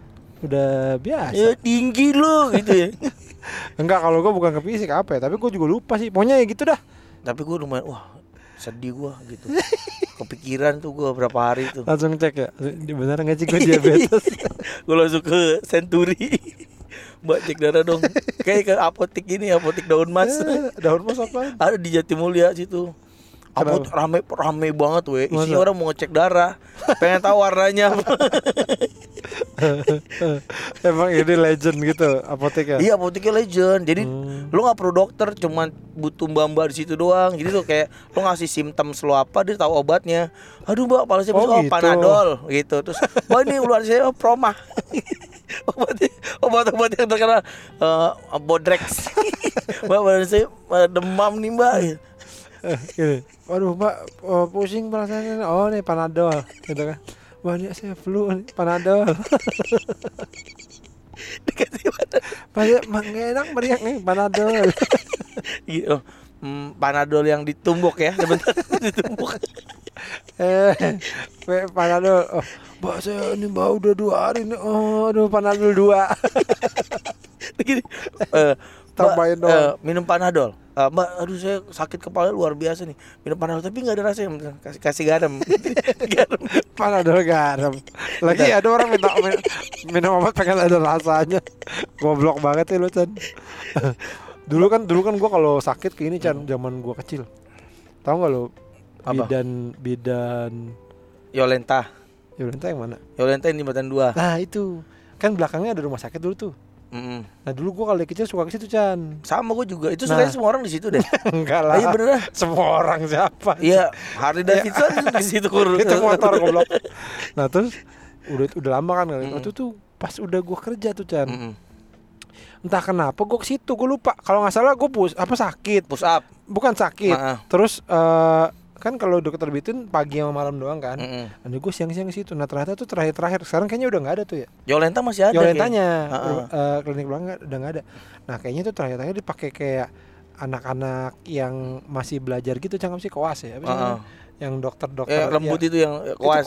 Udah biasa. Ya tinggi lo gitu ya. Enggak, kalau gue bukan ke fisik apa ya, tapi gue juga lupa sih. Pokoknya ya gitu dah. Tapi gue lumayan, wah sedih gue gitu. Kepikiran tuh gue berapa hari tuh. Langsung cek ya, bener gak sih gue diabetes. Gue langsung ke Century. Mbak cek darah dong. Kayak ke apotik ini, apotik daun mas. Eh, daun mas apa? Ada di Jatimulya situ. Apotik rame rame banget weh. Isinya orang mau ngecek darah. Pengen tahu warnanya. Emang ini legend gitu apoteknya? Iya, apoteknya legend. Jadi hmm. lo nggak perlu dokter, cuman butuh mbak-mbak di situ doang. Jadi tuh kayak lo ngasih simptom lo apa, dia tahu obatnya. Aduh mbak, kepala saya oh, gitu. Panadol gitu. Terus mbak ini luar saya oh, Proma. Obat-obat yang terkenal uh, Bodrex. Mbak badan saya demam nih mbak. Gini, waduh mbak oh, pusing perasaannya. Oh nih Panadol gitu kan. Wah ini saya flu nih, Panadol. Dikasih Panadol. Banyak enak meriak nih Panadol. Gitu. hmm, Panadol yang ditumbuk ya, sebentar ditumbuk. Eh, Panadol. Oh, Mbak saya ini Mbak udah dua hari nih. Oh, aduh Panadol dua. Gini, uh, Tambahin Mbak, uh, doang. minum Panadol. Uh, Mbak, aduh saya sakit kepala luar biasa nih. Minum Panadol tapi nggak ada rasanya. Kasih kasih garam. Garam. Panadol garam. Lagi ada orang minta min- minum obat pengen ada rasanya. Goblok banget ya lu, Chan. Dulu kan dulu kan gua kalau sakit kayak ini, Chan, zaman gua kecil. Tahu enggak lu? Apa? Bidan bidan Yolenta. Yolenta yang mana? Yolenta yang jembatan dua. Nah, itu. Kan belakangnya ada rumah sakit dulu tuh. Mm-mm. Nah, dulu gua kalau kecil suka ke situ, Chan. Sama gue juga. Itu Nah. sebenarnya semua orang di situ deh. Enggak lah. Iya bener. Semua orang siapa? Iya, Harley Davidson di situ kurus. Itu motor goblok. Nah, terus udah udah lama kan kali. Mm-mm. Waktu tuh pas udah gua kerja tuh, Chan. Mm-mm. Entah kenapa gua ke situ, gua lupa. Kalau nggak salah gua pus apa sakit. Push up. Bukan sakit. Maaf. Terus eh kan kalau dokter bitin pagi sama malam doang kan. Mm-mm. Nanti gue siang-siang ke situ. Nah, ternyata tuh terakhir-terakhir. Sekarang kayaknya udah nggak ada tuh ya. Yolenta masih ada. Yolentanya kayaknya. eh, klinik belakang udah nggak ada. Nah, kayaknya tuh terakhir-terakhir dipakai kayak anak-anak yang masih belajar gitu, cangkem sih koas ya. Apa sih Uh-uh. namanya? Yang dokter-dokter Eh, lembut ya. itu yang kuas.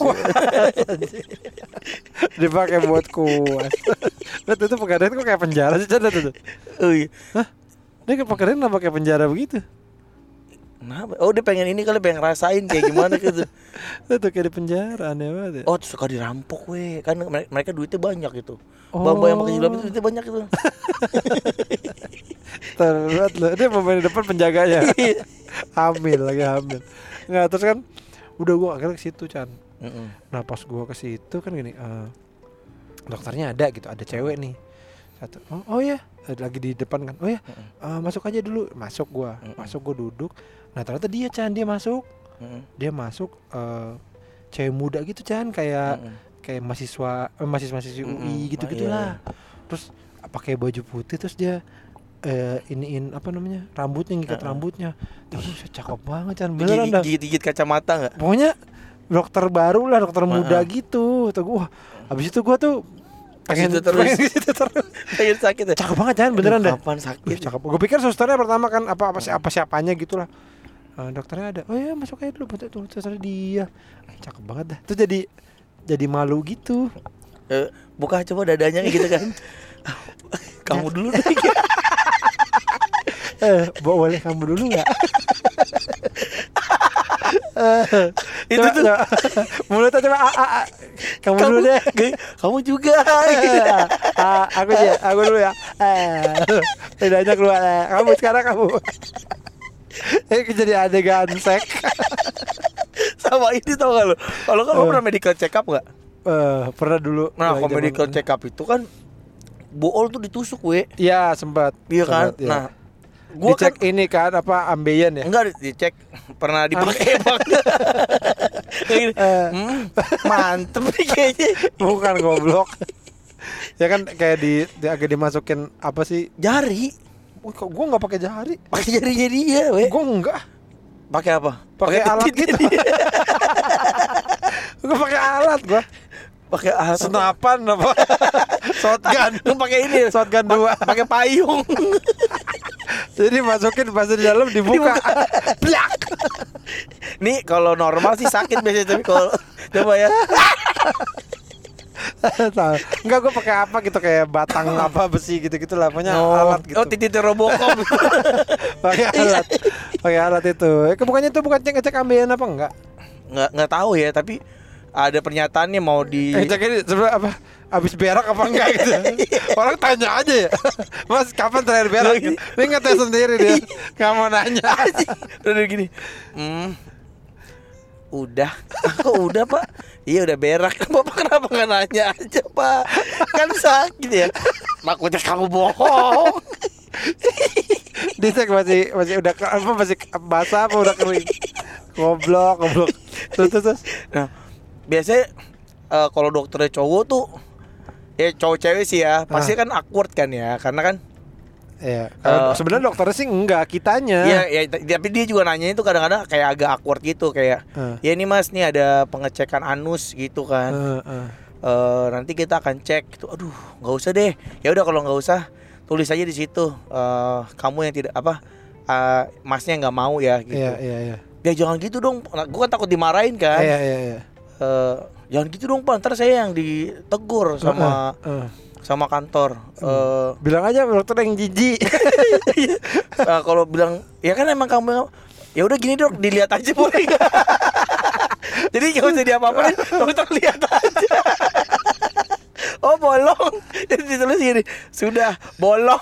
Dipakai buat kuas. Lihat itu pegadaian kok kayak penjara sih, Chan, tuh. Oh iya. Hah? Dia ke pegadaian kenapa kayak penjara begitu? Kenapa? Oh dia pengen ini kali, pengen ngerasain kayak gimana gitu. Itu tuh kayak di penjara, aneh banget ya. Oh tuh suka dirampok weh. Kan mere- mereka duitnya banyak gitu. Oh. Bapak yang pakai jilbab itu duitnya banyak gitu. Terlihat loh, dia pemain depan penjaganya. Hamil lagi hamil. Nggak, terus kan udah gua akhirnya ke situ, Chan. Mm-mm. Nah, pas gua ke situ kan gini, eh, dokternya ada gitu, ada cewek nih. Satu. Oh, oh ya, lagi di depan kan. Oh ya, eh, masuk aja dulu. Masuk gua. Mm-mm. Masuk gua duduk. Nah, ternyata dia, Chan, dia masuk. Mm-mm. Dia masuk eh, cewek muda gitu, Chan, kayak Mm-mm. kayak mahasiswa eh, mahasiswa-mahasiswa U I Mm-mm. gitu-gitulah. Ah, iya. Terus pakai baju putih, terus dia eh, iniin apa namanya, rambutnya, ngikat Uh-uh. rambutnya. Tapi cakep banget, Chan, beneran dah. Gigit-gigit kacamata nggak? Pokoknya dokter baru lah, dokter muda Uh-uh. gitu. Tuh gua, habis itu gua tuh pengen Situ terus. pengen gitu terus. Pengen sakit ya? Cakep banget, Chan, beneran Aduh, dah. Kapan Wih, sakit? cakep. Gue pikir susternya pertama kan apa apa siapa siapanya gitulah. Uh, dokternya ada. Oh ya, masuk aja dulu, betul tuh susternya dia. Cakep banget dah. Terus jadi jadi malu gitu. Eh, buka coba dadanya kayak gitu kan. Kamu dulu deh. Eh, bo- boleh kamu dulu nggak? Itu Coba, tuh. coba. Mulutnya coba ah, ah, ah. Kamu, dulu deh. Kamu juga. Ah, aku ya, aku dulu ya. Eh, lidahnya keluar. Eh, kamu sekarang kamu. Ini jadi adegan seks. Sama ini tau gak lo? Kalau kan lo Eh. pernah medical check up gak? Eh, pernah dulu. Nah lagi kalau zaman- medical check up itu kan bool tuh ditusuk we. Iya, sempat. Iya kan? Sempat, iya. Nah gua dicek kan ini kan apa ambeien ya? enggak dicek pernah dipakai bang. Kayak gini, Eh. hmm, mantep nih kayaknya. Bukan goblok. Ya kan kayak di, di agak dimasukin apa sih? Jari, Wih, kok gua nggak pakai jari? pakai jarinya dia we. Gua enggak. Pakai apa? Pakai alat titik gitu. dia. Gua pakai alat gua. Pakai alat apa? Senapan apa? Shotgun. Lu pakai ini Shotgun dua. pakai payung. Jadi masukin pas di dalam dibuka. Blak. Nih kalau normal sih sakit biasanya, tapi kalau coba ya. Tahu. Enggak, gua pakai apa gitu kayak batang apa besi gitu-gitu lah, pokoknya Oh, alat gitu. oh titik Robocop. Pakai alat. Pakai alat itu. Eh, bukannya itu bukan cek-cek ambeien apa enggak? nggak nggak tahu ya, tapi ada pernyataannya mau di Eh, cek ini sebenarnya apa? Abis berak apa enggak gitu. Orang tanya aja ya. Mas, kapan terakhir berak? Gitu. Dia ngetes sendiri dia. Enggak mau nanya. udah gini. Hmm. Udah. Kok udah, Pak? Iya udah berak. Bapak kenapa nggak nanya aja, Pak? Kan sakit ya. Makanya kamu bohong. Dicek masih masih udah ke- apa masih basah apa udah kering. Goblok, goblok. Terus terus. terus. Nah, biasanya eh, kalau dokternya cowok tuh ya cowok cewek sih ya, pasti kan awkward kan ya, karena kan Iya, kalau Eh, sebenarnya dokternya sih enggak, kitanya. Iya, ya, t- tapi dia juga nanya itu kadang-kadang kayak agak awkward gitu, kayak Eh. ya ini Mas nih ada pengecekan anus gitu kan. Eh, eh. Eh, nanti kita akan cek gitu. Aduh, nggak usah deh. Ya udah kalau nggak usah tulis aja di situ. Eh, kamu yang tidak apa uh, masnya nggak mau ya gitu. Iya iya iya. Ya jangan gitu dong. Nah, gue kan takut dimarahin kan. Iya iya iya. Uh, jangan gitu dong Pak, ntar saya yang ditegur sama uh, uh, uh. sama kantor. Uh, bilang aja dokter yang jijik. uh, kalau bilang ya kan emang kamu, ya udah gini dok, dilihat aja boleh. Jadi nggak usah diapa-apain, dokter lihat aja. Oh bolong, jadi ditulis gini, sudah bolong.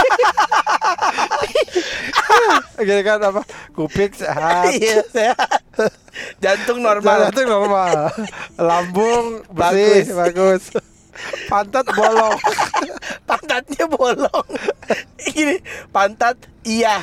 Gini kan apa? Kuping sehat. Iya sehat. Jantung normal. Jantung normal. Lambung bersih, bagus. bagus. Pantat bolong. Pantatnya bolong. Gini, pantat iya.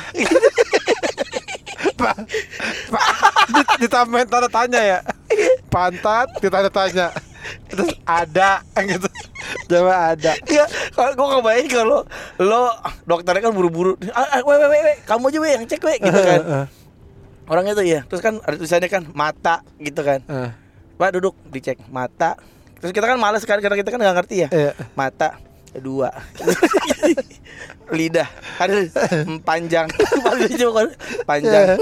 Pak, pa, ditambahin tanda tanya ya. Pantat ditanda tanya. Terus ada gitu. Coba ada. Iya, kalau gue kebayang kalau lo dokternya kan buru-buru. Ah, we, we, we, kamu aja we yang cek we gitu kan. Orangnya tuh ya. Terus kan ada tulisannya kan mata gitu kan. Uh. Pak duduk dicek mata. Terus kita kan malas kan karena kita kan nggak ngerti ya. Uh. Mata dua. Lidah ada panjang. Panjang.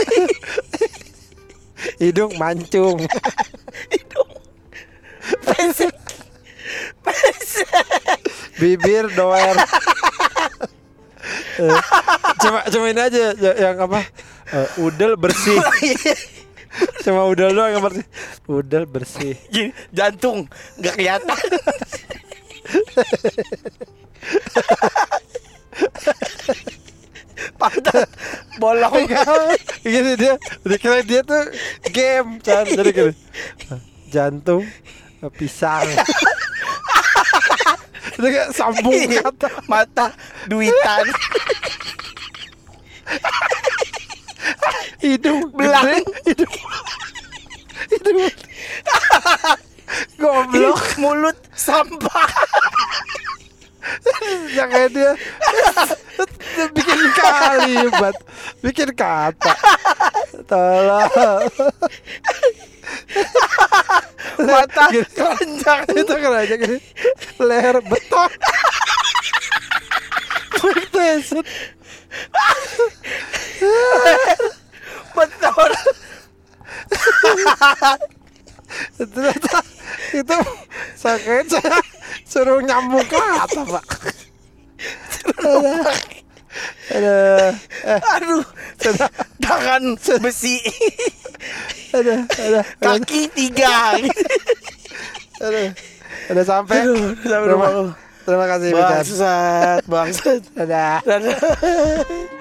Hidung mancung. Hidung pesek. Pesek. Bibir doer. uh, cuma cuma ini aja yang apa? Uh, udel bersih. Cuma udel doang yang bersih. Udel bersih. Gini, jantung nggak kelihatan. Pantat bolong. Gini dia, dikira dia tuh game kan, jadi gini. Jantung pisang. Itu kayak sambung kata. Mata duitan. Hidung belang. Hidung Hidung goblok. Mulut sampah. Yang kayak dia bikin kalimat, bikin kata. Tolong. Mata keranjang. Itu keranjang gini. Leher beton. Beton. Beton. Ternyata itu sakit, saya suruh nyambung kata Pak. Aduh, aduh, eh. aduh, tangan besi, aduh, aduh, kaki tiga, aduh, udah sampai, aduh, sampai rumah. Terima kasih bangsat, bangsat, dadah, dadah.